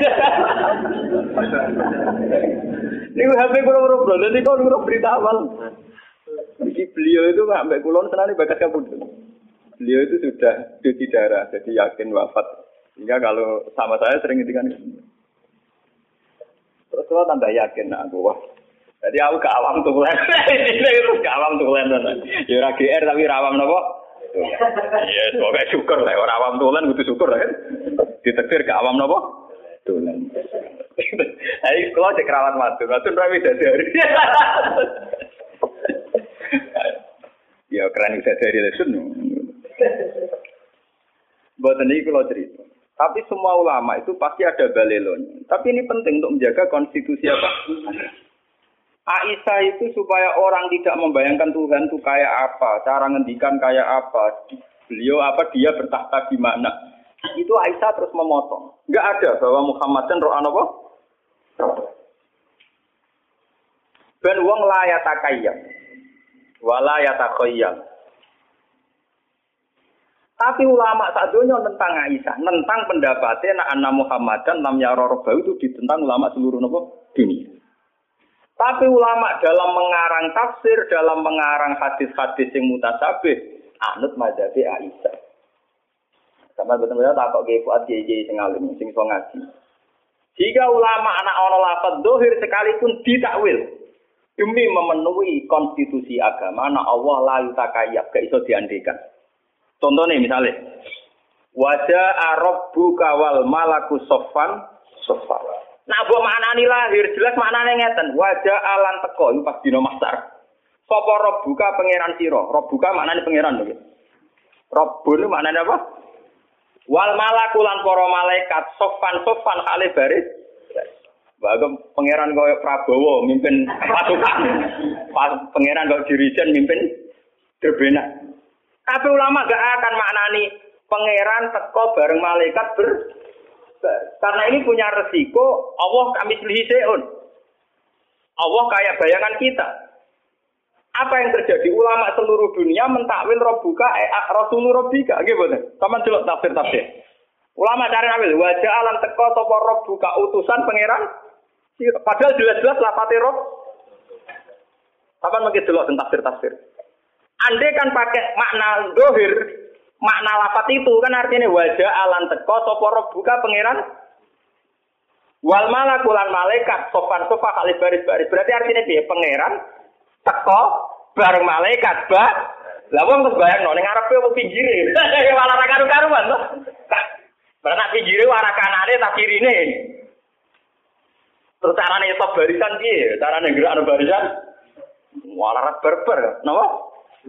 Ini H P kurang-kurang bro, nanti kau kurang berita awal. Jadi beliau itu sampai kulon senang bakat kabut. Beliau itu sudah cuci darah, jadi yakin wafat. Sehingga kalau sama saya sering ngintikan itu. Terus kalau tambah yakin, nah aku wah. Jadi aku ke awam tulen. Ini ke awam tulen. Ya ora G R tapi rawam napa? Iya, semoga syukur lah. Ora awam tulen kudu syukur kan. Ditektir ke awam napa? Tulen. Ayo kalau cek rawat matu, matu rawi dadari. Ya keren bisa dari lesson. Buat ini kalau cerita. Tapi semua ulama itu pasti ada balelonya. Tapi ini penting untuk menjaga konstitusi apa? Aisyah itu supaya orang tidak membayangkan Tuhan itu kayak apa, cara ngendikan kayak apa, beliau apa, dia bertahta di mana. Itu Aisyah terus memotong. Enggak ada bahwa Muhammad dan roh apa? Ben wong la yatakayyam. Wala yatakhayyam. Tapi ulama sadonya tentang Aisyah, tentang pendapatnya nak anak Muhammadan lam yara rabbahu itu ditentang ulama seluruh napa dunia. Tapi ulama dalam mengarang tafsir, dalam mengarang hadis-hadis yang mutasyabih, anut mazhab Aisyah. Sampai betul-betul tak kok ge Fuad J J sing alim sing iso ngaji. Jika ulama anak ana lafaz zahir sekalipun ditakwil demi memenuhi konstitusi agama, ana Allah la yutakayyab, gak iso diandekan. Contohnya misalnya wajah rabbuka wal malaku soffan soffan. Nah, buat maknani lahir jelas maknane ngeten. Wajah alan teko itu pas dina mahsyar. Sapa rabbuka pangeran sira? Rabbuka maknane pangeran lho. Rabbun maknane apa? Wal malaku lan para malaikat soffan soffan kale baris. Bagem pangeran koyo Prabowo mimpin pasukan. Pangeran kok dirijen mimpin Drbena. Tapi ulama gak akan maknani pangeran teko bareng malaikat ber karena ini punya resiko Allah kami selihi seun. Allah kayak bayangan kita. Apa yang terjadi? Ulama seluruh dunia mentakwil Rabbuka eh Rasulur Rabbika nggih mboten. Saman delok tafsir-tafsir. Ulama cari ambil wajah alam teko sapa Rabbuka utusan pangeran. Padahal jelas-jelas lafate Rabb. Saman mungkin delok tafsir-tafsir. Andai kan pakai makna dohir, makna lafat itu kan artinya wajah alan teko sapa rabbuka pangeran wal malakulan malaikat sopan sofa kali baris-baris. Berarti artinya dia pangeran teko bareng malaikat ba. Lah wong terus bayangno ning ngarepe opo pinggire. Malah ra karu-karuan to. Berarti pinggire arah kanane tak kirine. Terus carane top barisan piye? Carane gerak barisan. Malah berber. Napa?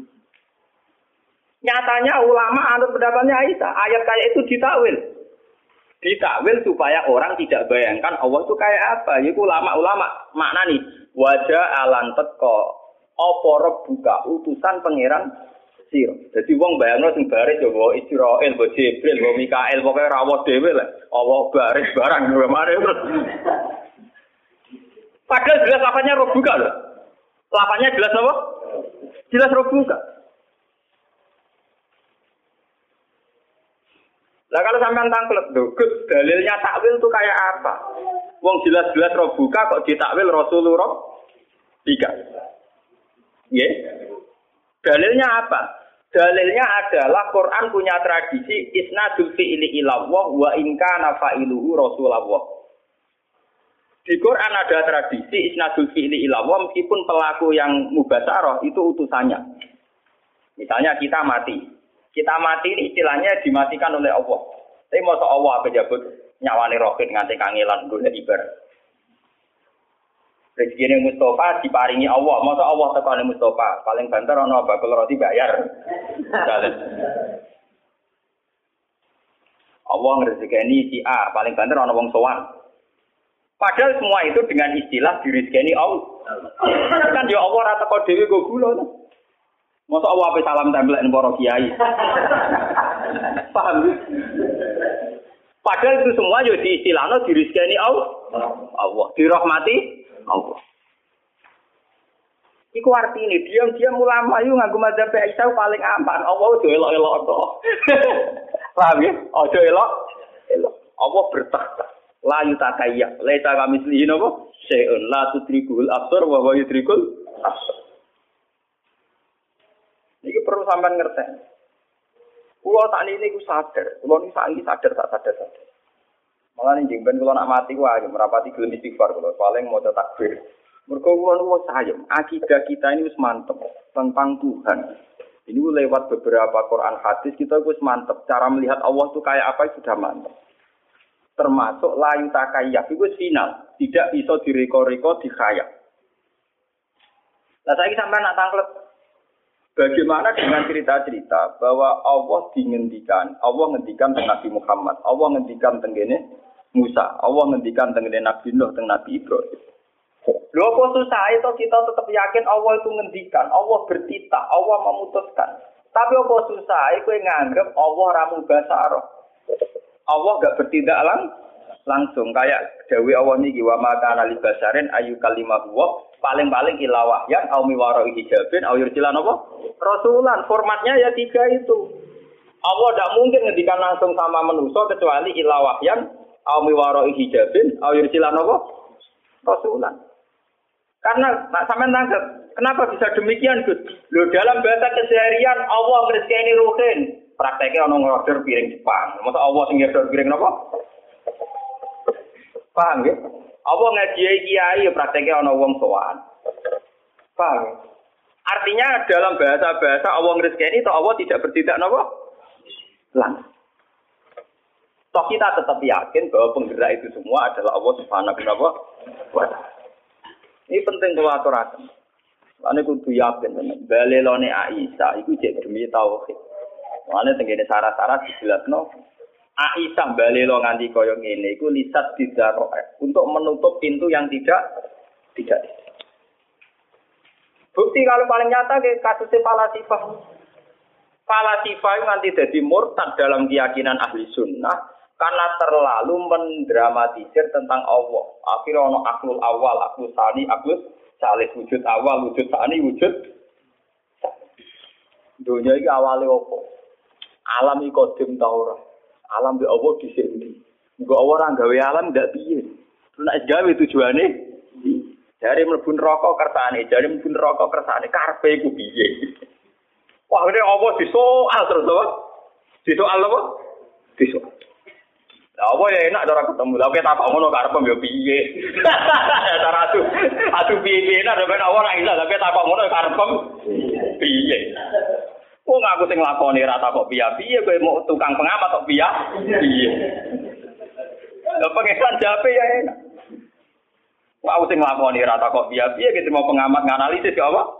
Nyatanya ulama anut pendapatnya Aisyah, ayat kayak itu ditakwil. Ditakwil supaya orang tidak bayangkan Allah itu kayak apa. Yaitu ulama-ulama maknani wajah alan teko apa rabbuka utusan pangeran sira. Jadi wong bayangno sing baris ya wa Israil, wa Jibril, wa Mikail, pokoke rawuh dhewe lah. Allah baris barang mare terus. Padahal jelas lafaznya rabbuka lho. Lafaznya jelas apa? Jelas rabbuka. Lah kalau sampean tangklet lho, dalilnya takwil itu kayak apa? Wong jelas-jelas Rabbuka kok ditakwil Rasulullah tiga. Nggih. Dalilnya apa? Dalilnya adalah Quran punya tradisi isnadul fi'li ilallah wa in kana fa'iluhu Rasulullah. Di Quran ada tradisi isnadul fi'li ilallah meskipun pelaku yang mubasyarah itu utusannya. Misalnya kita mati. Kita mati ini istilahnya dimatikan oleh Allah. Tapi masa Allah pejabat nyawane roket nganti kangelan golek ibarat. Rezeki Mustafa diparingi Allah, masa Allah tekane Mustafa, paling banter ana bakul roti bayar. Allah ngrezekeni si A, paling banter ana wong sowan. Padahal semua itu dengan istilah direzekeni Allah. Kan ya Allah ra teko dhewe go gula. Masa Allah ape salam templek para kiai. Paham? Padahal itu semua yo diistilahno direzekeni Allah. Allah dirahmati Allah. Iku artine diam-diam ulama yo nganggo mazhab Aisyah paling aman. Allah ojo elok-elok to. Paham ya? Ojo elok. Elok. Allah bertakhta. La yutakayya. Laisa kamislihi napa? Syai'un la tudrikul absar wa huwa yudrikul absar. Iki perlu sampean ngerti. Kulo tak niki ku sadar. Kulo niki saiki sadar tak sadar sadar. Mulane njing ben kula nak mati ku ayo merapati gelem istighfar kula paling maca takbir. Mergo kula niku sayem, akidah kita ini wis mantep tentang Tuhan. Ini lewat beberapa Quran hadis kita wis mantep cara melihat Allah itu kayak apa sudah mantep. Termasuk la yutakayya itu final, tidak bisa direko-reko dikhayal. Lah saiki sampean nak tanglet bagaimana dengan cerita-cerita bahwa Allah dingendikan, Allah ngendikan tentang Nabi Muhammad, Allah ngendikan tentang Musa, Allah ngendikan tentang Nabi Nuh, tentang Nabi Ibrahim. Lho kok susah itu kita tetap yakin Allah itu ngendikan, Allah bertitah, Allah memutuskan. Tapi apa susah kowe nganggep Allah ra mubasyarah. Allah enggak bertindak lang langsung kayak dawuh Allah niki wa ma kana li basarin ayu kalimah wa paling-paling ila wahyan au miwaro hijabin au yursilan apa? Rasulan. Formatnya ya tiga itu. Allah tidak mungkin ngendikan langsung sama manusia kecuali ila wahyan au miwaro hijabin au yursilan apa? Rasulan. Karena nak sampean tangkap, kenapa bisa demikian, Gus? Loh dalam bahasa keseharian Allah ngrezekeni ruhin. Prakteknya ana ngorder piring Jepang. Masa Allah sing ngorder piring napa? Paham ya? Allah ngaji kiai prakteknya ana wong sowan. Paham ya? Artinya dalam bahasa-bahasa Allah ngrezekeni atau Allah tidak bertindak napa? Langsung. Toh kita tetap yakin bahwa penggerak itu semua adalah Allah Subhanahu wa taala. Ini penting kalau aturaken. Ane kudu yakin tenan. Balelone Aisyah iku jek demi tauhid. Ane tengene syarat-syarat dijelasno. Aisyah balelo nganti kaya ngene iku lisat didaro untuk menutup pintu yang tidak tidak. Bukti kalau paling nyata ke kasusnya Falasifah. Falasifah itu nanti jadi murtad dalam keyakinan ahli sunnah. Karena terlalu mendramatisir tentang Allah. Akhirnya ada aklul awal, aklul sani, aklul salih. Wujud awal, wujud sani, wujud dunia ini awalnya apa? Alam ini kodim taurah. Alam di Allah di sini. Jika orang gawe alam tidak biar. Terus nak gawe tujuannya. Dari melebur rokok kersane. Dari melebur rokok kersane. Karpe itu biar. Wah ini Allah disoal terus apa? Disoal apa? Disoal. Lah apa ya enak cara ketemu. Lah kita apa ngono karepem yo piye. Cara adu adu piye-piye nak ben ora iso lah kita apa ngono karepem piye. Wong aku sing lakoni ra tak kok piye-piye kowe mau tukang pengamat kok piye. Piye. Lah pengesan jape ya enak. Wong aku sing lakoni ra tak kok piye-piye gitu mau pengamat nganalisis ya apa.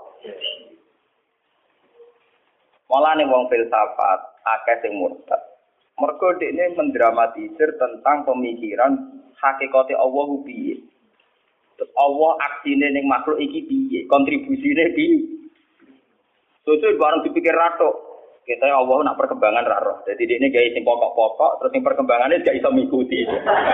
Mulane wong filsafat akeh sing murtad. Mergo dekne mendramatisir tentang pemikiran hakikate Allah piye. Terus Allah aksine ning makhluk iki piye, kontribusine piye. Sesuk bareng dipikir ratok. Kita Allah nak perkembangan ra roh. Dadi dekne gawe sing pokok-pokok terus sing perkembangane gak iso mikuti.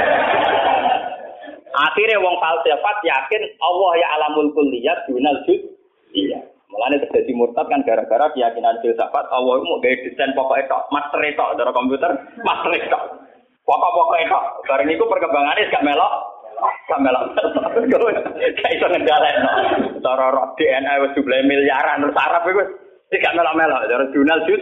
Akhire wong falsafat yakin Allah ya alamul kulliyat dunal juz. Iya. Mulane terjadi murtad kan gara-gara keyakinan filsafat Allah itu mau gawe desain pokoknya tok, master tok dari komputer, master tok. Pokok-pokoknya tok. Bareng niku perkembangannya gak melok, gak melok. Gak iso ngendhalekno. Cara roh D N A wis jumlah miliaran terus Arab iku Tidak melok-melok, cara jurnal jus.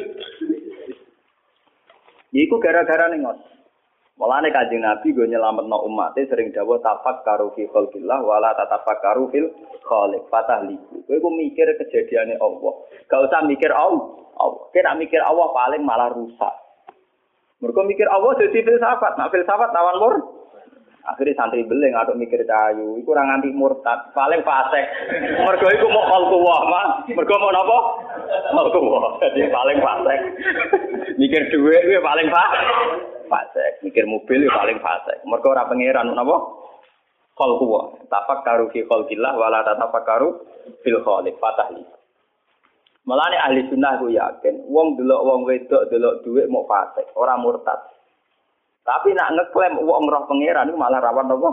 Iku gara-gara nih ngos. Mulane Kanjeng Nabi go nyelametno umate sering dawuh tafakkaru fi khalqillah wala tatafakkaru fil khaliq fatahliku. Kowe ku mikir kejadiane Allah. Gak usah mikir Allah. Allah. Kena mikir Allah paling malah rusak. Mergo mikir Allah dadi filsafat. Nah filsafat lawan mur. Akhirnya santri beling atau mikir cayu. Iku ora nganti murtad, paling fasik. Mergo iku mau khalqullah, mah. Mergo mau napa? Khalqullah. Dadi paling fasik. Mikir dhuwit kuwi paling fasik. Fasik, mikir mobil ya paling fasik. Mergo ora pangeran napa? Khalqullah. Tafakkaru fi khalqillah wala tatafakkaru fil khaliq. Fatahli. Malane ahli sunnah ku yakin, wong delok wong wedok delok dhuwit mau fasik, ora murtad. Tapi nak ngeklaim wong roh pangeran iku malah rawan apa?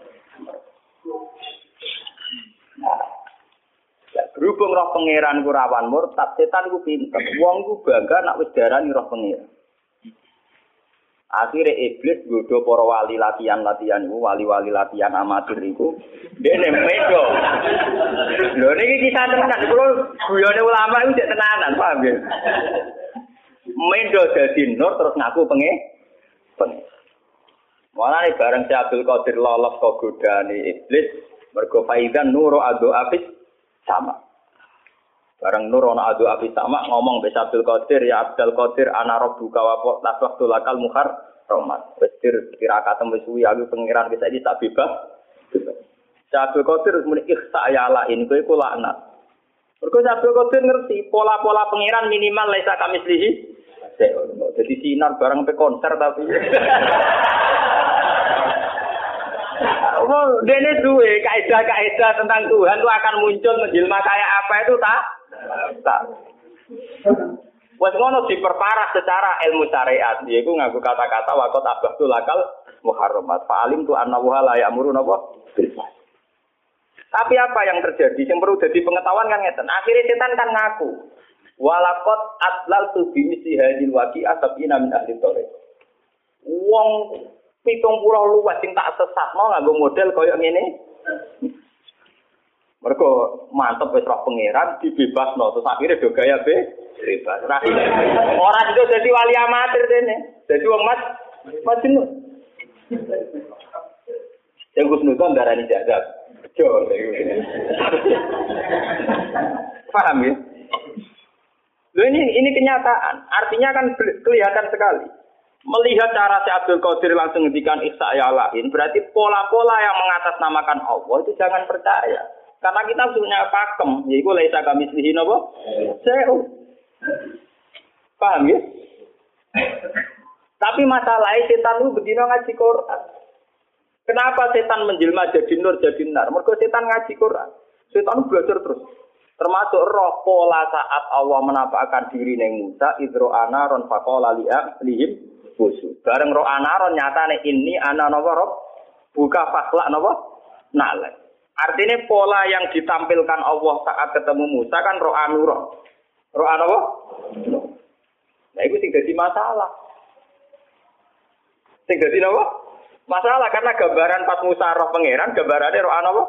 Nah, ya, berhubung roh pangeran ku rawan murtad, setan ku pinter. Wong ku bangga nak wis darani roh pangeran. Akhirnya iblis godho para wali latihan-latihan iku, wali-wali latihan amatir iku, dene medo. Lho niki kisah tenan, kula guyone ulama iku cek tenanan, paham ya? Medo dadi nur terus ngaku penge penge. Mulane bareng si Abdul Qadir lolos kok godane iblis, mergo faidan nuru adu afis sama. Bareng nur ana adu afis sama ngomong be Abdul Qadir, ya Abdul Qadir ana rabbuka wa taswaqtu lakal muhar rahmat. Wis kira katem wis suwi aku pengiran wis iki tak bebas. Si Abdul Qadir muni ikhsa ya la ini kowe iku laknat. Mergo si Abdul Qadir ngerti pola-pola pengiran minimal laisa kamislihi. Jadi sinar bareng pe konser tapi. Oh, dene duwe kaidah-kaidah tentang Tuhan itu akan muncul menjelma kayak apa itu tak? Tak. Wes ngono diperparah secara ilmu syariat, yaiku nganggo kata-kata waqat abahtu lakal muharramat. Fa'alim tu anna wa la ya'muru napa? Tapi apa yang terjadi? Yang perlu jadi pengetahuan kan ngeten. Akhirnya setan kan ngaku. Walaqad atlaltu bi misli hadil waqi'ah sab'ina min ahli thariq. Wong pitung puluh luwes sing tak sesatno nganggo model kaya ngene. Mergo mantep wis roh pangeran dibebasno terus akhire do gaya be bebas. Ora itu dadi wali amatir dene. Dadi wong mas majnun. Yang kusnudon darani jazab. Jo. Paham ya? Loh ini ini kenyataan. Artinya kan kelihatan sekali. Melihat cara si Abdul Qadir langsung ngendikan ihsa ya lain, berarti pola-pola yang mengatasnamakan Allah itu jangan percaya. Karena kita punya pakem, yaitu laisa kamislihi napa? Saya paham ya? Tapi masalahnya setan itu bedino ngaji Quran. Kenapa setan menjelma jadi nur jadi nar? Mergo setan ngaji Quran. Setan belajar terus. Termasuk roh pola saat Allah menampakkan diri neng Musa idro anaron faqala lihim busu. Bareng roh anaron nyatane ini ana napa roh buka fakla napa nale. Artinya pola yang ditampilkan Allah saat ketemu Musa kan roh anuro. Roh apa? Nah itu sing dadi masalah. Sing dadi napa? Masalah karena gambaran pas Musa roh pangeran gambarane roh apa?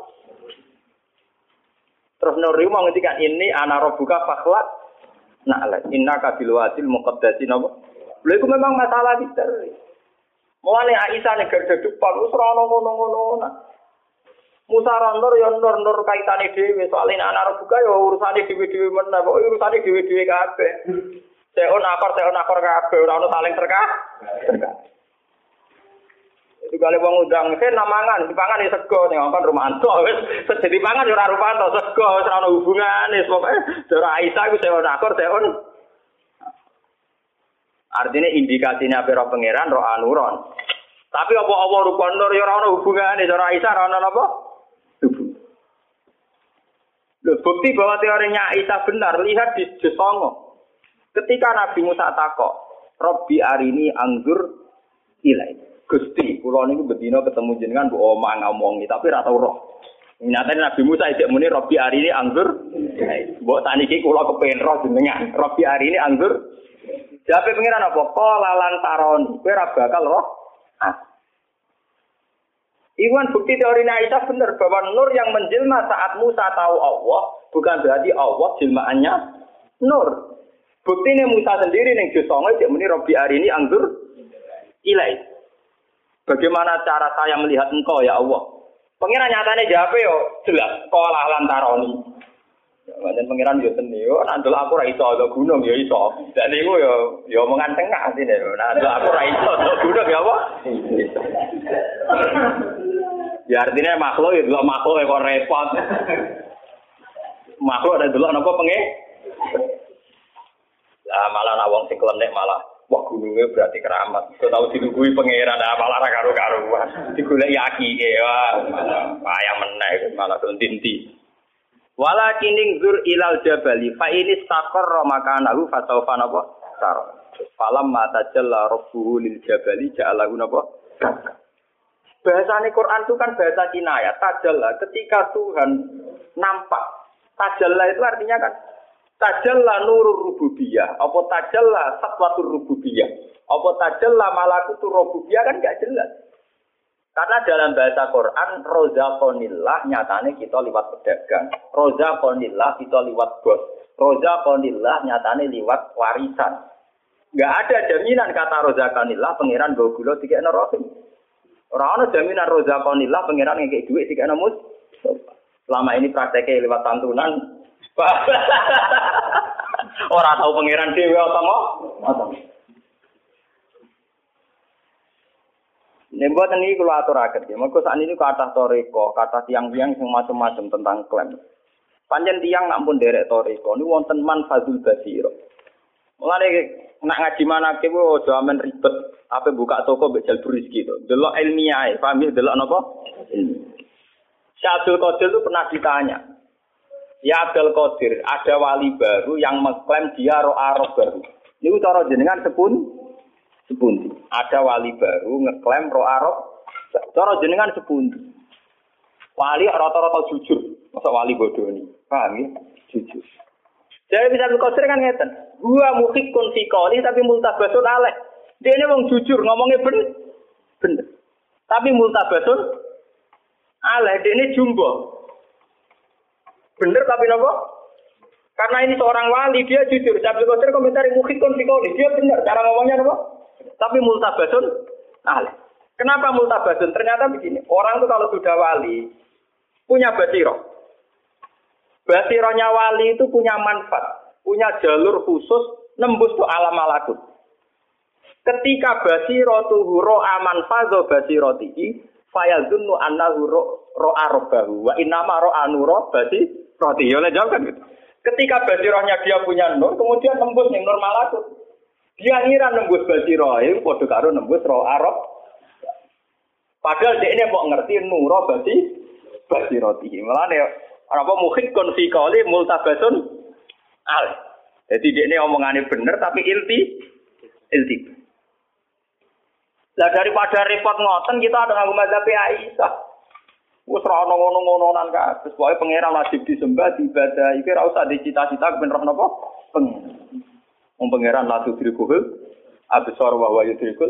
Terus Nuri mau ngendikan ini ana rabbuka fakhlaq na'la innaka bil wadil muqaddasin apa. Lha iku memang masalah besar. Mulane Aisyah nek gede depan wis ora ono ngono-ngono. Musa randor ya nur-nur kaitane dhewe soalé ana rabbuka ya urusane dhewe-dhewe meneh kok urusane dhewe-dhewe kabeh. Seon akor seon akor kabeh ora ono saling terkah. Terkah. Itu kali wong undang sen namangan, dipangan ya sego ning ngkon Romanto wis sedhi pangan ya ora Romanto sego wis ora ono hubungane pokoke Dora Aisyah iku seon akor seon. Artinya indikasinya apa roh pangeran roh anuron. Tapi apa apa rupa nur ya ora ono hubungane Dora Aisyah ora ono apa? Hubung. Loh, bukti bahwa teorinya Aisyah benar lihat di Jesongo. Ketika Nabi Musa takok, Robbi arini anggur ilai. Gusti, kula niku bedina ketemu jenengan mbok omong ngomongi tapi ora tau roh. Nyatane Nabi Musa isih muni Robbi arini anggur. Mbok saniki kula kepengin roh jenengan. Robbi arini anggur. Jape pengiran apa? Qala lan taron. Kowe ora bakal roh. Ah. Iwan bukti teori Aisyah benar bahwa nur yang menjelma saat Musa tahu Allah bukan berarti Allah jelmaannya nur. Buktine Musa sendiri ning juz songo cek muni Robbi arini anggur ilai. Bagaimana cara saya melihat engkau ya Allah? Pengiran nyatane jawab yo jelas sekolah lantaroni. Dan pengiran yo seni yo nandul aku ra iso ke gunung yo iso. Dan niku yo yo omongan tengah atine. Nandul aku ra iso ke gunung ya apa? Ya artinya makhluk ya delok makhluk kok repot. Makhluk ada delok napa pengen? Lah malah nak wong sing klenek malah wah gunungnya berarti keramat. Kau tahu dilungguhi pangeran, nah, malah karu-karuan. Digolek yaki, ya, payah meneh, malah dontinti. Walakining zur ilal jabali, fa ini stakor romakanahu fasaufa napa sar. Falam mata jalla rabbuhu lil jabali ja'alahu napa. Bahasane Quran itu kan bahasa kinayah. Tajalla ketika Tuhan nampak. Tajalla itu artinya kan tajalla nurur rububiyah, apa tajalla satwatur rububiyah, apa tajalla malakutur rububiyah kan enggak jelas. Karena dalam bahasa Quran rozaqonillah nyatane kita liwat pedagang, rozaqonillah kita liwat bos, rozaqonillah nyatane liwat warisan. Enggak ada jaminan kata rozaqonillah pangeran go gula dikekno rohim. Ora ana jaminan rozaqonillah pangeran ngekek dhuwit dikekno mus. Selama ini prakteknya liwat santunan orang tahu pangeran dewi atau apa? Nembuat ini kalau atur akhir, maka saat ini kata toriko, kata tiang-tiang yang macam-macam tentang klaim. Panjang tiang nak pun derek toriko, ini wonten man fazul basiro. Mulai nak ngaji mana kewo, jaman ribet, apa buka toko bejal turis gitu. Delok ilmiah, paham ya? Delok apa? Syekh Abdul Qadir itu pernah ditanya. Ya Abdul Qadir, ada wali baru yang mengklaim dia ro'a roh baru. Ini cara jenengan sepun, sepundi. Ada wali baru ngeklaim ro'a roh, cara jenengan sepundi. Wali rata-rata jujur, masa wali bodoh ini, paham ya? Jujur. Jadi bisa Abdul Qadir kan ngeten. Gua mukhikun fikoli tapi multabasun aleh. Dia ini wong jujur, ngomongnya bener, bener. Tapi multabasun aleh, dia ini jumbo. Bener tapi nopo? Karena ini seorang wali, dia jujur. Abdul Qadir komentari mukhikun fikoli, dia bener cara ngomongnya nopo? Tapi multabasun aleh. Kenapa multabasun? Ternyata begini, orang itu kalau sudah wali punya basiro. Basironya wali itu punya manfaat, punya jalur khusus nembus tuh alam malakut. Ketika basiro tuh ro'a manfazo basiroti, fayazunnu annahu ro'a robbahu wa innama ro'a nuro basi roti. Ya jawab kan gitu. Ketika basirohnya dia punya nur, kemudian nembus yang nur malakut. Dia ngira nembus basiroh, itu padha karo nembus ro'a rob. Padahal dia ini mau ngerti nuro basi basiroti. Mulane apa mukhikun fi qali multabasun al. Jadi dia ini omongannya bener tapi ilti ilti. Lah daripada repot ngoten kita ada nganggo mazhab Aisyah. Wis ora ono ngono-ngononan kabeh. Pokoke pangeran wajib disembah, diibadah. Iki ora usah dicita-cita ben roh napa? Pangeran. Wong pangeran la tudrikul absar wa huwa yudrikul.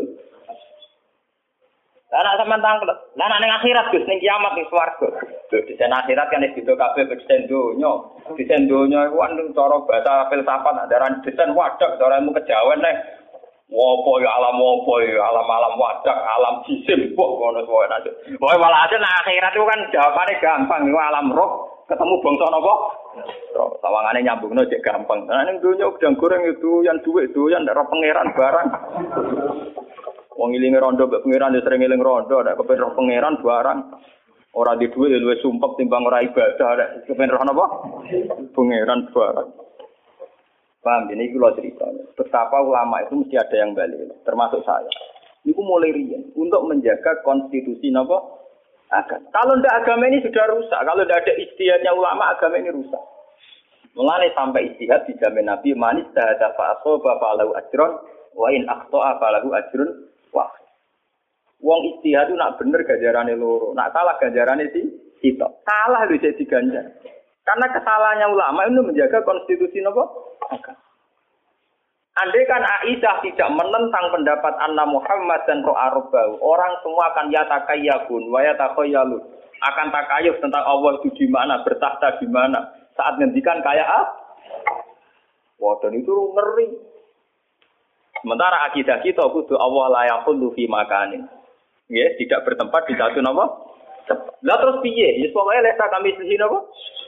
Lah nek sampean tangkel, lah nek ning akhirat Gus ning kiamat ning swarga. Lho di akhirat kan wis beda kabeh beda donya. Disen donya iku kan cara bahasa filsafat andaran desen wadak cara ilmu kejawen nek wopo ya alam wopo ya alam-alam wadak, alam jisim kok ngono wae nanti. Wae malah nek akhirat itu kan jawabane gampang iku alam roh ketemu bangsa napa? Roh. Sawangane nyambungno cek gampang. Nah ning donya gedang goreng itu yang duit doyan nek pangeran barang. Wong ilinge rondo mbek pangeran yo sering eling rondo nek kepen roh pangeran barang. Ora di duit luwih sumpek timbang ora ibadah nek kepen roh napa? Pangeran barang. Paham, ini kalau cerita. Betapa ulama itu mesti ada yang balik, termasuk saya. Itu mulai rian untuk menjaga konstitusi apa? Agama. Kalau tidak agama ini sudah rusak. Kalau tidak ada ijtihadnya ulama, agama ini rusak. Mulai sampai ijtihad dijamin Nabi manis tahada fa'asoba fa'alahu ajron wa in akhto'a fa'alahu ajron wah. Wong ijtihad itu nak bener ganjarane loro, nak salah ganjarane si sitok. Salah itu jadi ganjar. Karena kesalahannya ulama itu menjaga konstitusi apa? Agama. Andai kan Aisyah tidak menentang pendapat Anna Muhammad dan Ro'a Rabbahu, orang semua akan yatakayyabun wa yatakhayyalu. Akan takayuf tentang Allah itu di mana, bertahta di mana. Saat ngendikan kayak ah? Wadon itu ngeri. Sementara akidah kita kudu Allah la yaqulu fi makanin. Nggih, tidak bertempat di satu napa? Lah terus piye? Ya pokoke lek kami sisi napa?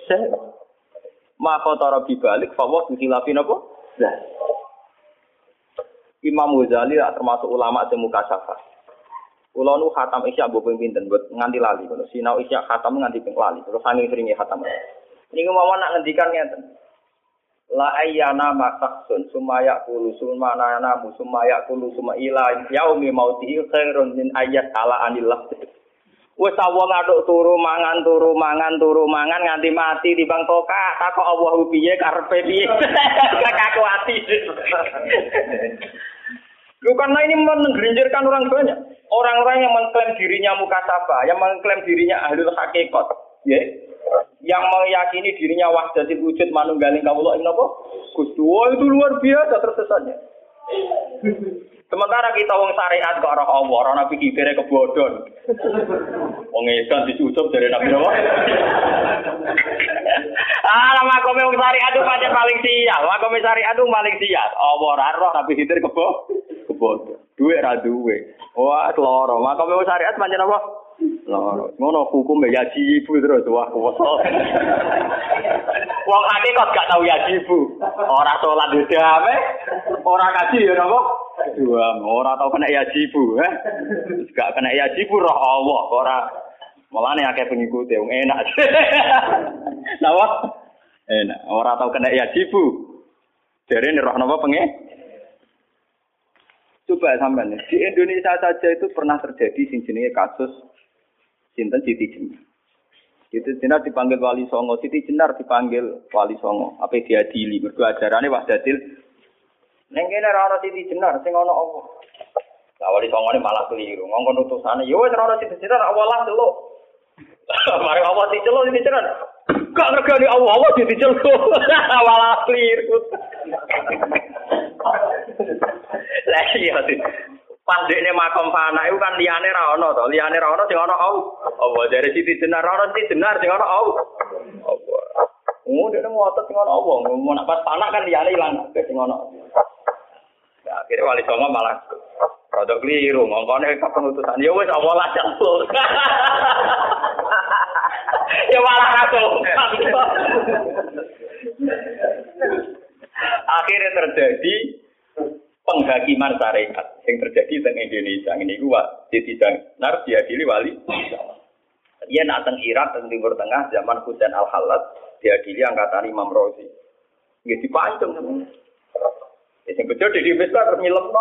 Maka tara bibalik fawah dihilafi napa? Lah. Imam Ghazali termasuk ulama sing mukasyafah. Kula nu khatam isya mbok ping pinten mbok nganti lali ngono. Sinau isya khatam nganti ping lali. Terus saking seringe khatam. Niku mawon nak ngendikan ngeten. La ayyana masaksun sumaya qulu sumana namu sumaya qulu suma ila yaumi mautihi khairun min ayyat ala anillah. Wes wong aduk turu mangan turu mangan turu mangan nganti mati timbang tokak takok Allah piye karepe piye. Kakakku ati. Lu karena ini menggerinjirkan orang banyak. Orang-orang yang mengklaim dirinya mukasyafah, yang mengklaim dirinya ahlul hakikat, ya. Yang meyakini dirinya wahdatul wujud manunggaling kawula ing napa? Gusti itu luar biasa tersesatnya. Sementara kita wong syariat kok ora Allah, ora nabi kibere kebodhon. Wong edan dicucup dari nabi napa? Ah, makome wong syariat itu pancen paling sial. Makome syariat itu paling sial. Allah ora roh nabi kibere kebo kebodhon. Duwe ra duwe. Wah, loro. Makome wong syariat pancen apa? Loro. Ngono hukum ya jibu terus wah kuwasa. Wong hakikat gak tau ya jibu. Ora salat dhewe, ora kaji ya napa? Dua, ora tau kena ya jibu, eh. Gak kena ya jibu roh Allah, ora malane akeh pengikut wong enak. Napa? Enak, ora tau kena ya jibu. Jarene roh napa penge? Coba sampean di Indonesia saja itu pernah terjadi sing jenenge kasus sinten Siti Jenar. Siti Jenar dipanggil Wali Songo, Siti Jenar dipanggil Wali Songo. Apa diadili mergo ajarane wahdatil. Ning kene ora ana Siti Jenar sing ana apa? Lah Wali Songone malah keliru. Ngongkon utusane, ya wis ora ana Siti Jenar awalah delok. Mari Allah diceluk Siti Jenar. Gak ngergani Allah, Allah diceluk. Awalah keliru. Lah iya sih. Pandekne makom fana iku kan liyane ra ono to, liyane ra ono sing ono Allah. Allah dari Siti Jenar ora Siti Jenar sing ono Allah. Allah. Oh, dene ngotot sing ono Allah, mau nak pas fana kan liyane ilang sing ono. Ya, akhire Wali Songo malah produk keliru, ngongkone kepenutusan. Ya wis Allah lah jampul. Ya malah kacau. Akhirnya terjadi penghakiman syariat yang terjadi di Indonesia ini gua Siti Jenar diadili wali. Dia nak teng Irak teng Timur Tengah zaman Husain Al-Khallat diadili angkatan Imam Razi. Nggih dipancung temen. Ya sing bejo di besar ngilemno.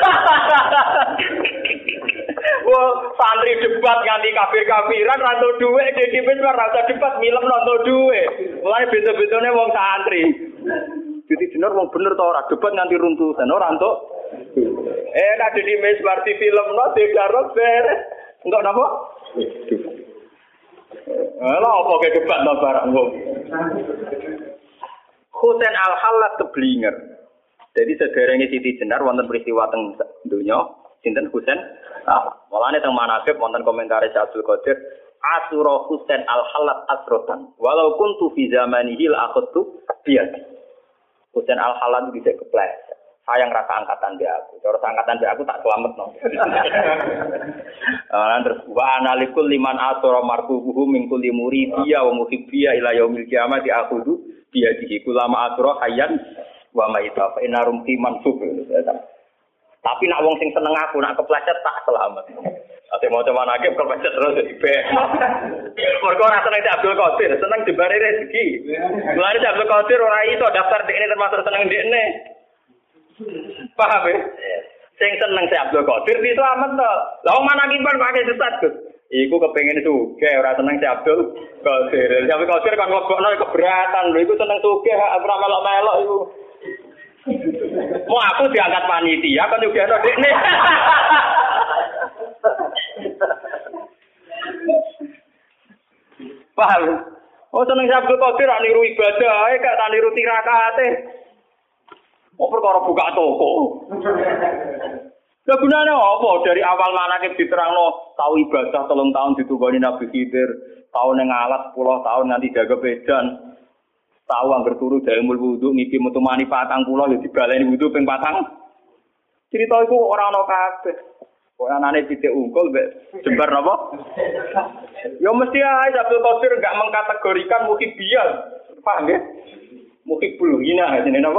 Wah, santri debat nganti kafir-kafiran ra entuk dhuwit di besar ra usah debat ngilemno entuk dhuwit. Mulane beda-bedane wong santri. Siti Jenar wong bener to ora debat nganti runtusan ora entuk. Eh nek di mesbar di film no digarap beres. Entuk napa? Lha apa ke debat to barang wong. Husain Al-Khallat keblinger. Jadi sederenge Siti Jenar wonten peristiwa teng donya sinten Husain. Ah, mulane teng manaqib wonten komentar Abdul Qadir Asura Husain Al-Khallat asrotan. Walau kuntu fi zamanihi la akhadtu biyadi. Husain Al-Khallat bisa kepleset. Sayang rasa angkatan dia aku. Cara angkatan dia aku tak selamat no. Nah, terus wa analikul liman asara marfuhu min kulli muridiyya wa muhibbiyya ila yaumil qiyamah diakhudhu biyadihi kulama asra hayyan wa maita fa inna rumti mansub. Tapi nak wong sing seneng aku nak kepleset tak selamat. Ate mau coba nake kepleset terus di be. Mergo ora seneng Abdul Qadir, seneng dibare rezeki. Mulane Abdul Qadir ora iso daftar dekne termasuk seneng dekne. Paham ya? Sing seneng si Abdul Qadir bisa amat to. Lah wong manakiban pakai sesat, Gus. Iku kepengin sugih ora seneng si Abdul Qadir. Si Abdul Qadir kan nglebokno keberatan lho, iku seneng sugih ora melok-melok iku. Mau aku diangkat panitia kan juga ada dekne. Paham? Oh seneng si Abdul Qadir ora niru ibadah ae gak niru tirakate. Mau perkara buka toko. Lah gunane apa? Dari awal manakib diterangno tau ibadah telung tahun ditungoni Nabi Khidir, tahun ning alat sepuluh tahun nganti jaga bedan. Tahu anggar turu dalem wudu ngipi metu mani patang puluh ya dibaleni wudu ping patang. Cerita iku ora ana kabeh. Kok anane titik unggul mbek jembar napa? Ya mesti ae Abdul Qadir enggak mengkategorikan muhibbiyah. Paham nggih? Muhibbul hina jenenge napa?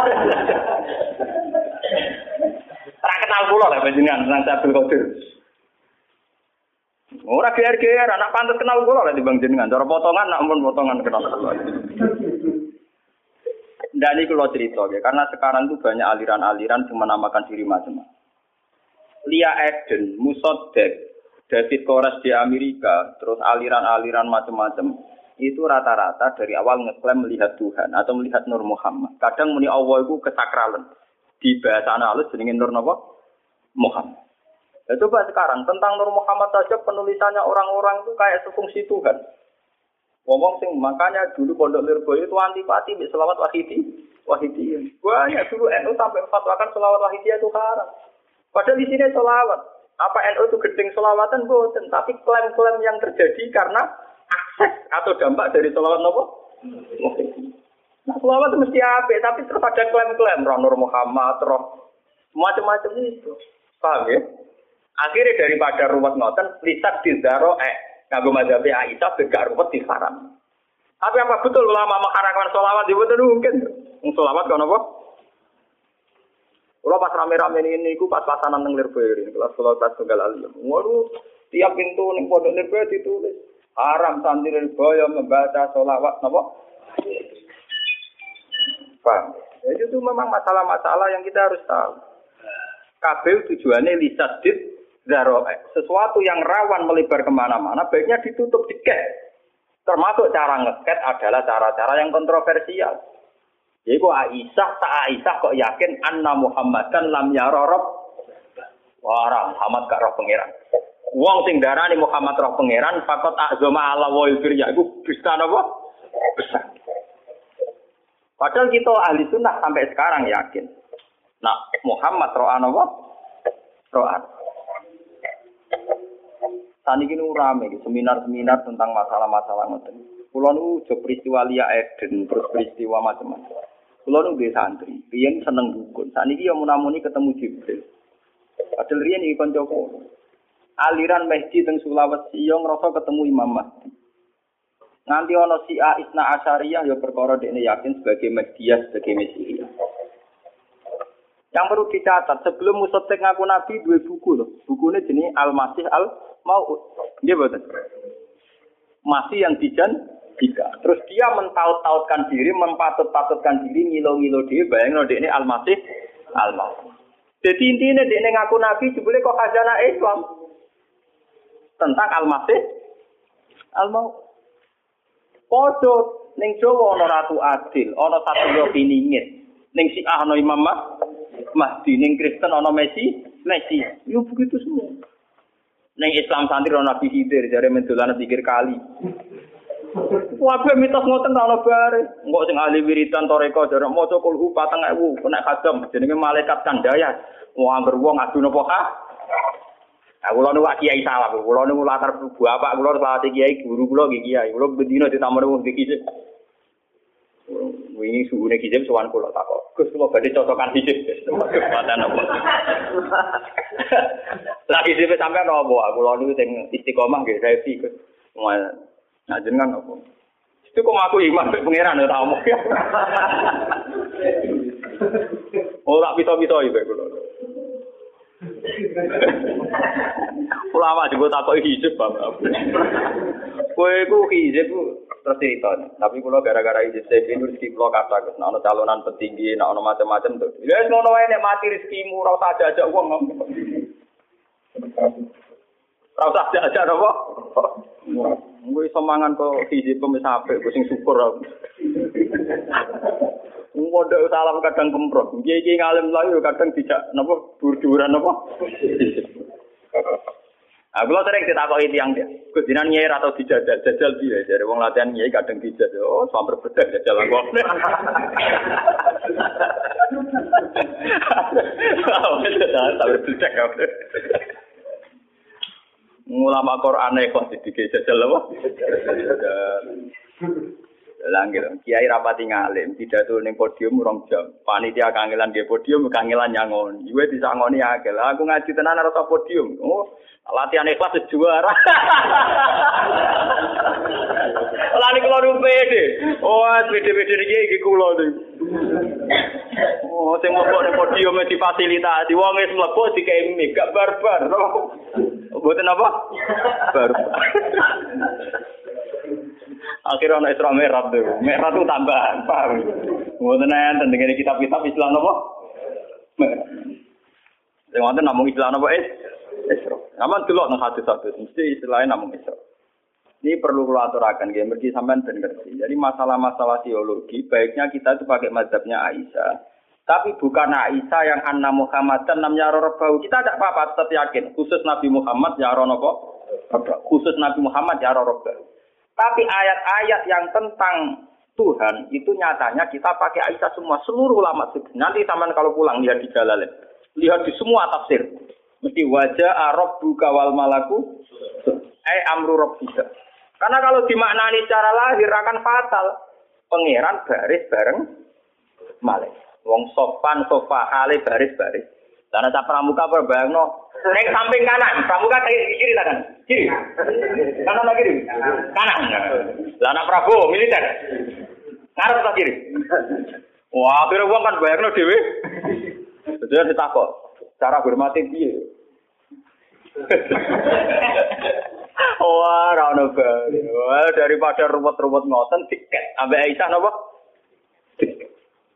Ora kenal kula lho panjenengan nang Abdul Qadir. Ora geer-geer anak pantes kenal kula lho timbang jenengan. Cara potongan nak mun potongan kenal kula. Ndak niku kula cerita nggih, karena sekarang itu banyak aliran-aliran yang menamakan diri macam-macam. Lia Eden, Musoddek, David Koresh di Amerika, terus aliran-aliran macam-macam, itu rata-rata dari awal ngeklaim melihat Tuhan atau melihat Nur Muhammad. Kadang muni Allah itu kesakralan. Di bahasa halus jenenge Nur napa? Muhammad. Ya, coba sekarang tentang Nur Muhammad saja penulisannya orang-orang itu kayak sefungsi Tuhan. Ngomong sing makanya dulu Pondok Lirboyo itu antipati mbek selawat wahidi, wahidi. Banyak dulu N U sampai fatwakan selawat wahidi itu haram. Padahal di sini selawat. Apa N U itu gedeng selawatan boten, tapi klaim-klaim yang terjadi karena akses atau dampak dari selawat nopo? Nah, selawat itu mesti apik, tapi terus ada klaim-klaim roh Nur Muhammad, roh macam-macam itu. Paham ya? Akhirnya daripada ruwet ngoten, lisak dizaro eh kanggo mazhab Aisyah begak ruwet diharam. Tapi apa betul ulama mengharamkan selawat? Ya betul mungkin. Wong selawat kan apa? Kalau pas rame-rame ini, aku pas pasanan nang Lirboyo ini, kelas sekolah kelas tunggal alim. Waduh, tiap pintu neng pondok Lirboyo ditulis haram santri Lirboyo membaca sholawat, napa? Paham? Jadi itu memang masalah-masalah yang kita harus tahu. K B U tujuannya lisadid zaroe, sesuatu yang rawan melebar kemana-mana, baiknya ditutup diket. Termasuk cara ngeket adalah cara-cara yang kontroversial. Jadi kok Aisyah, tak Aisyah kok yakin anna Muhammadan lam yara rabb. Wah, Muhammad gak roh pangeran. Wong sing darani Muhammad roh pangeran, fakot azama ala wa ilfirya iku bisa napa? Besar. Padahal kita ahli sunnah sampai sekarang yakin. Nah, Muhammad roh napa? Roh. Saniki nu rame seminar-seminar tentang masalah-masalah ngoten. Kula nu jo peristiwa Lia Eden, terus peristiwa macam-macam. Kulo nu nggih santri, riyen seneng dukun. Saniki ya munamuni ketemu Jibril. Padahal riyen iki kancaku. Aliran Mahdi teng Sulawesi yo ngrasa ketemu Imam Mahdi. Nganti ana Syiah Isna Asyariyah ya perkara dekne yakin sebagai Mahdiyah, sebagai Mesias. Yang perlu dicatat, sebelum Musoddek ngaku nabi dua buku loh. Bukunya jenenge Al-Masih Al-Mau'ud. Nggih mboten? Masih yang dijan Jika. Terus dia mentaut-tautkan diri, mempatut-patutkan diri, ngilo-ngilo diri, bayangin dia ini Al-Masih Al-Maut. Jadi intinya dia ini ngaku Nabi, jebule kok khazanah Islam. Tentang Al-Masih Al-Maut. Podo, ning Jawa ana Ratu Adil, ana Satrio Piningit. Ning Syiah ana Imam Mahdi, ning Kristen ana Messi, Messi. Yo begitu semua. Ning Islam santri ana Nabi Khidir, jare mendolan pikir kali. Wabe mitos ngoten ta ono bare. Engko sing ahli wiridan toreko jarak maca kulhu patang ewu nek kadam jenenge malaikat kandaya. Wong angger wong adu napa ha? Aku lho wak kiai salah, kula niku latar bapak kula salah kiai guru kula nggih kiai. Kula bendina ditamoni wong iki. Wingi suhune kijep sowan kula takok. Gus kula badhe cocokan dijep. Kesempatan apa? Lah kijep sampean apa? Kula niku sing istiqomah nggih saya iki Gus. Nah jenengan apa? Itu kok aku iman mek pangeran ora omong. Oh tak pito-pito iki kula. Ulama juga takoki hijab Bapak. Kowe ku hijab terus cerita. Tapi kula gara-gara hijab saya ini rezeki kula kata Gus, ana calonan petinggi, ana macam-macam tuh. Ya wis ngono wae nek mati rezekimu ora usah ajak wong. Ora usah ajak apa? Gue iso mangan kok hijab wis apik, sing syukur aku. Ngondok salam kadang kemprot. Iki ngalim layu kadang tidak napa dur-duran napa. Aku lho sering ditakoki tiyang dia. Gus dinan nyai atau dijajal jajal piye? Jare wong latihan nyai kadang dijajal. Oh, samper bedak jajal aku. Samper bedak aku. Ulama Quran kok didike jajal apa? Lah gitu. Kiai rapati ngalim, pidato ning podium rong jam. Panitia kangelan nggih podium kangelan nyangon. Iwe disangoni akeh. Lah aku ngaji tenan ora podium. Oh, latihan ikhlas juara. Lah niku lho pede. Oh, pede-pede iki iki kula niku. Oh, sing mlebu ning podium difasilitasi. Wong wis mlebu dikei mic, gak barbar. Mboten apa? Barbar. Akhirnya ana Isra Mi'raj tuh. Mi'raj itu tambahan, paham. Mboten enten dengan kitab-kitab Islam apa? Mi'raj. Sing wonten namung Islam apa? Isra. Aman delok nang hadis-hadis mesti istilahnya namung Isra. Ini perlu kula aturaken nggih mergi sampean ben ngerti. Jadi masalah-masalah teologi baiknya kita itu pakai mazhabnya Aisyah. Tapi bukan Aisyah yang anna Muhammadan namanya Rabbau. Kita tidak apa-apa tetap yakin khusus Nabi Muhammad ya Rabbau. Khusus Nabi Muhammad ya Rabbau. Tapi ayat-ayat yang tentang Tuhan itu nyatanya kita pakai Aisyah semua, seluruh ulama. Nanti sampean kalau pulang lihat di Jalalain, lihat di semua tafsir. Mesti wajah rabbuka wal malaku ai amru rabbika. Karena kalau dimaknani secara lahir akan fatal. Pangeran baris bareng malaikat. Wong sopan sofa hale baris-baris. Karena tak pramuka berbayangno nek samping kanan, pramuka kiri kanan. Kiri. Kanan lagi kiri. Kanan. Lah anak Prabowo militer. Ngarep ta kiri. Wah, akhirnya wong kan bayangno dhewe. Jadi ditakok, cara hormati piye? Wah, ra ono bae. Wah, daripada ruwet-ruwet ngoten tiket ambek Aisyah napa? Tiket.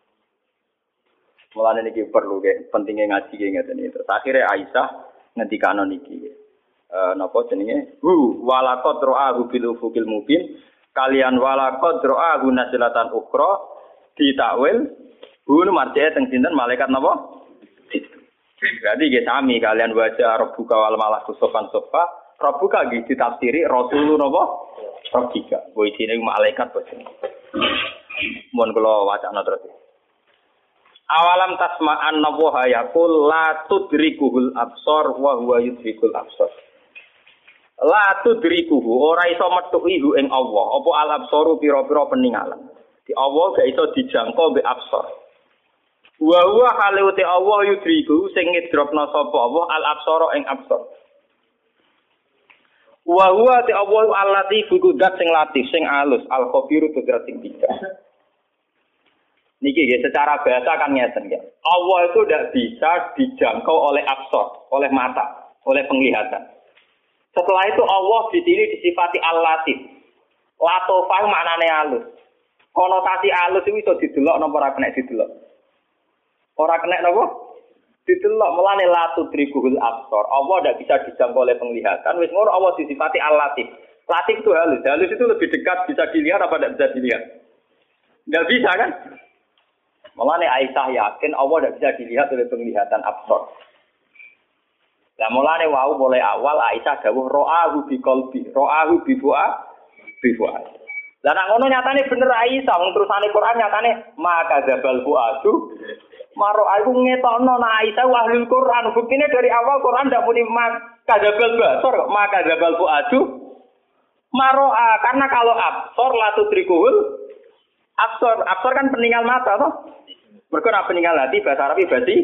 Mulane niki perlu nggih, pentingnya ngaji nggih ngeten iki. Terus akhire Aisyah ngendikano niki. Eh napa jenenge? Hu walaqad ra'ahu bil ufuqil mubin. Kalian walaqad ra'ahu nazlatan ukhra ditakwil. Hu marjae teng sinten malaikat napa? Berarti nggih sami kalian baca rabbuka wal malaku sofan sofa. Rabbuka nggih ditafsiri rasulun napa? Rabbika. Wa isine malaikat bos. Mun kula wacana terus. Awalam tasma'an nawaha yaqul la tudrikuhul absar wa huwa yudrikul absar. La tudrikuhu ora iso metuki hu ing Allah. Apa al absaru pira-pira peninggalan. Di Allah gak iso dijangkau mbek absar. Wa huwa halute Allah yudriku sing ngidropna sapa Allah al absara ing absar. Wa huwa ti Allah allati fududat sing latif sing alus al khabiru tudrat sing bijak. Niki ya, secara bahasa kan ngeten ya. Allah itu tidak bisa dijangkau oleh absor, oleh mata, oleh penglihatan. Setelah itu Allah di sini disifati al-latif. Latofah maknane halus. Konotasi halus itu bisa didelok napa ora kena didelok. Ora kena napa? Didelok mulane la tudrikuhul absor. Allah tidak bisa dijangkau oleh penglihatan. Wis ngono Allah disifati al-latif. Latif itu halus. Halus itu lebih dekat bisa dilihat apa tidak bisa dilihat? Tidak bisa kan? Mulane Aisyah yakin Allah tidak bisa dilihat oleh penglihatan absor. Lah mulane wau mulai awal Aisyah dawuh ra'ahu bi qalbi, ra'ahu bi fu'a, bi fu'a. Lah nek ngono nyatane bener Aisyah, wong terusane Quran nyatane maka dzabal fu'atu. Maro aku ngetokno nek Aisyah ahlul Quran, buktine dari awal Quran ndak muni maka dzabal basor, maka dzabal fu'atu. Maro karena kalau absor la tudrikuhul absor, absor kan peninggal mata toh. Mergo nek peninggal hati bahasa Arab berarti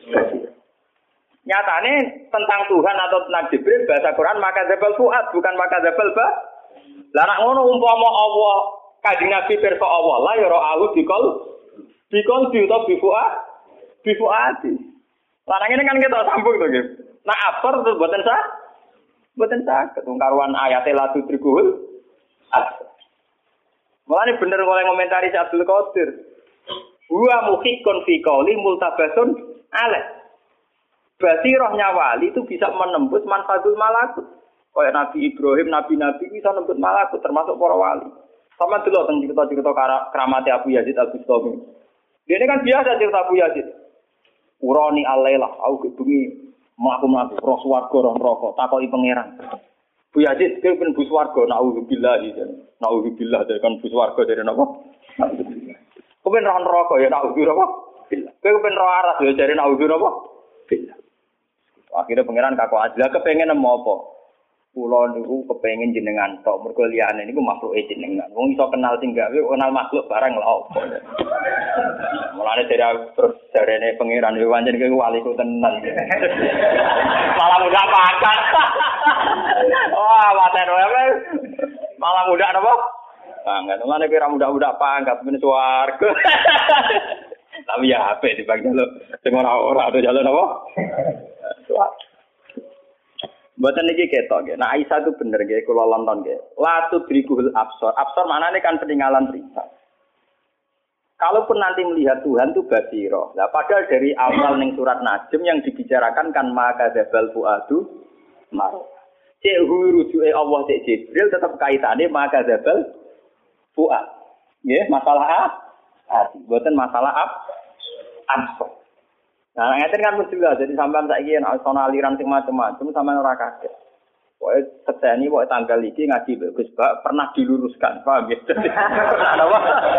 nyatane tentang Tuhan atau tentang Jibril bahasa Quran maka zabal fuad bukan maka zabal ba. Lah nek ngono umpama Allah Kanjeng Nabi pirsa Allah la ya ra'ahu bikol bikol bi utawa bi fuad bi fuadi. Lah ngene kan kita sambung to nggih. Nah absor terus boten sah. Boten sah ketungkaruan ayat la tudrikuhul absor. Mulane bener oleh komentari Abdul Qadir. Wa muhiqqun fi qouli multabasun alaih. Basirahnya wali itu bisa menembus manfatul malakut. Kayak Nabi Ibrahim, nabi-nabi bisa menembus malakut termasuk para wali. Sama dulu tentang cerita-cerita keramat Abu Yazid Al-Bustami. Dia ini kan biasa cerita Abu Yazid. Urani alailah, aku kebengi mlaku-mlaku roh swarga roh neraka, takoki pangeran. Bu Yazid kowe ben bus warga naudzubillah iki. Naudzubillah dari kan bus warga dari napa? Naudzubillah. Kowe ben roh neraka ya naudzubillah. Kowe ben roh aras ya dari naudzubillah. Billah. Akhirnya pangeran kakak Azla kepengen nemu apa? Kula niku kepengin jenengan tok, mergo liyane niku makhluke jenengan. Wong iso kenal sing gawe kenal makhluk barang lha opo. Mulane dari terus jarene pangeran yo pancen kowe waliku tenan. Malah mudah pakat. Wah, waten wae. Malah mudah napa? Pangkat. Mulane kowe ra mudah-mudah pangkat men swarga. Tapi ya apik dibang jaluk sing ora-ora ada jaluk napa? Swarga. Mboten niki ketok nggih. Nah Aisyah itu bener nggih kula lonton nggih. La tudrikul absar. Absar maknane kan peninggalan riset. Kalaupun nanti melihat Tuhan itu basiro. Nah padahal dari awal ning surat Najm yang dibicarakan kan maka dzabal fuadu mar. Cek rujuke Allah cek Jibril tetap kaitane maka dzabal fuad. Nggih, masalah hati. Mboten masalah ab absar. Nah, ngeten kan mesti lah. Jadi sampean saiki nek ana aliran sing macam-macam sampean ora kaget. Pokoke seteni pokoke tanggal iki ngaji Gus Bak pernah diluruskan, paham ya? Apa?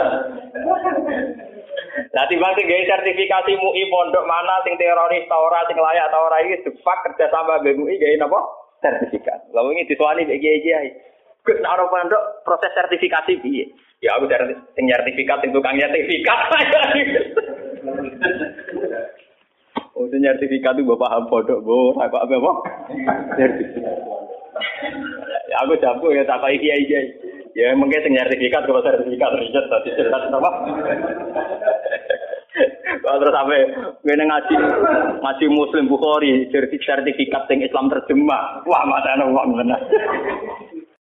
Lah timbang sing gawe sertifikasi M U I pondok mana sing teroris ta ora sing layak ta ora iki difak kerja sama B M U I gawe napa? Sertifikat. Lah wingi dituani iki iki ae. Gus nek ora pondok proses sertifikasi piye? Ya aku dari sing sertifikat sing tukang sertifikat. Oh, sertifikat itu bapak paham bodoh, bu, apa apa apa? Sertifikat. Ya, aku jago ya tak kayak kiai kiai. Ya mungkin sertifikat kalau sertifikat riset tadi cerita apa? Kalau terus sampai gue ngaji ngaji Muslim Bukhari sertifikat yang Islam terjemah, wah mana uang benar.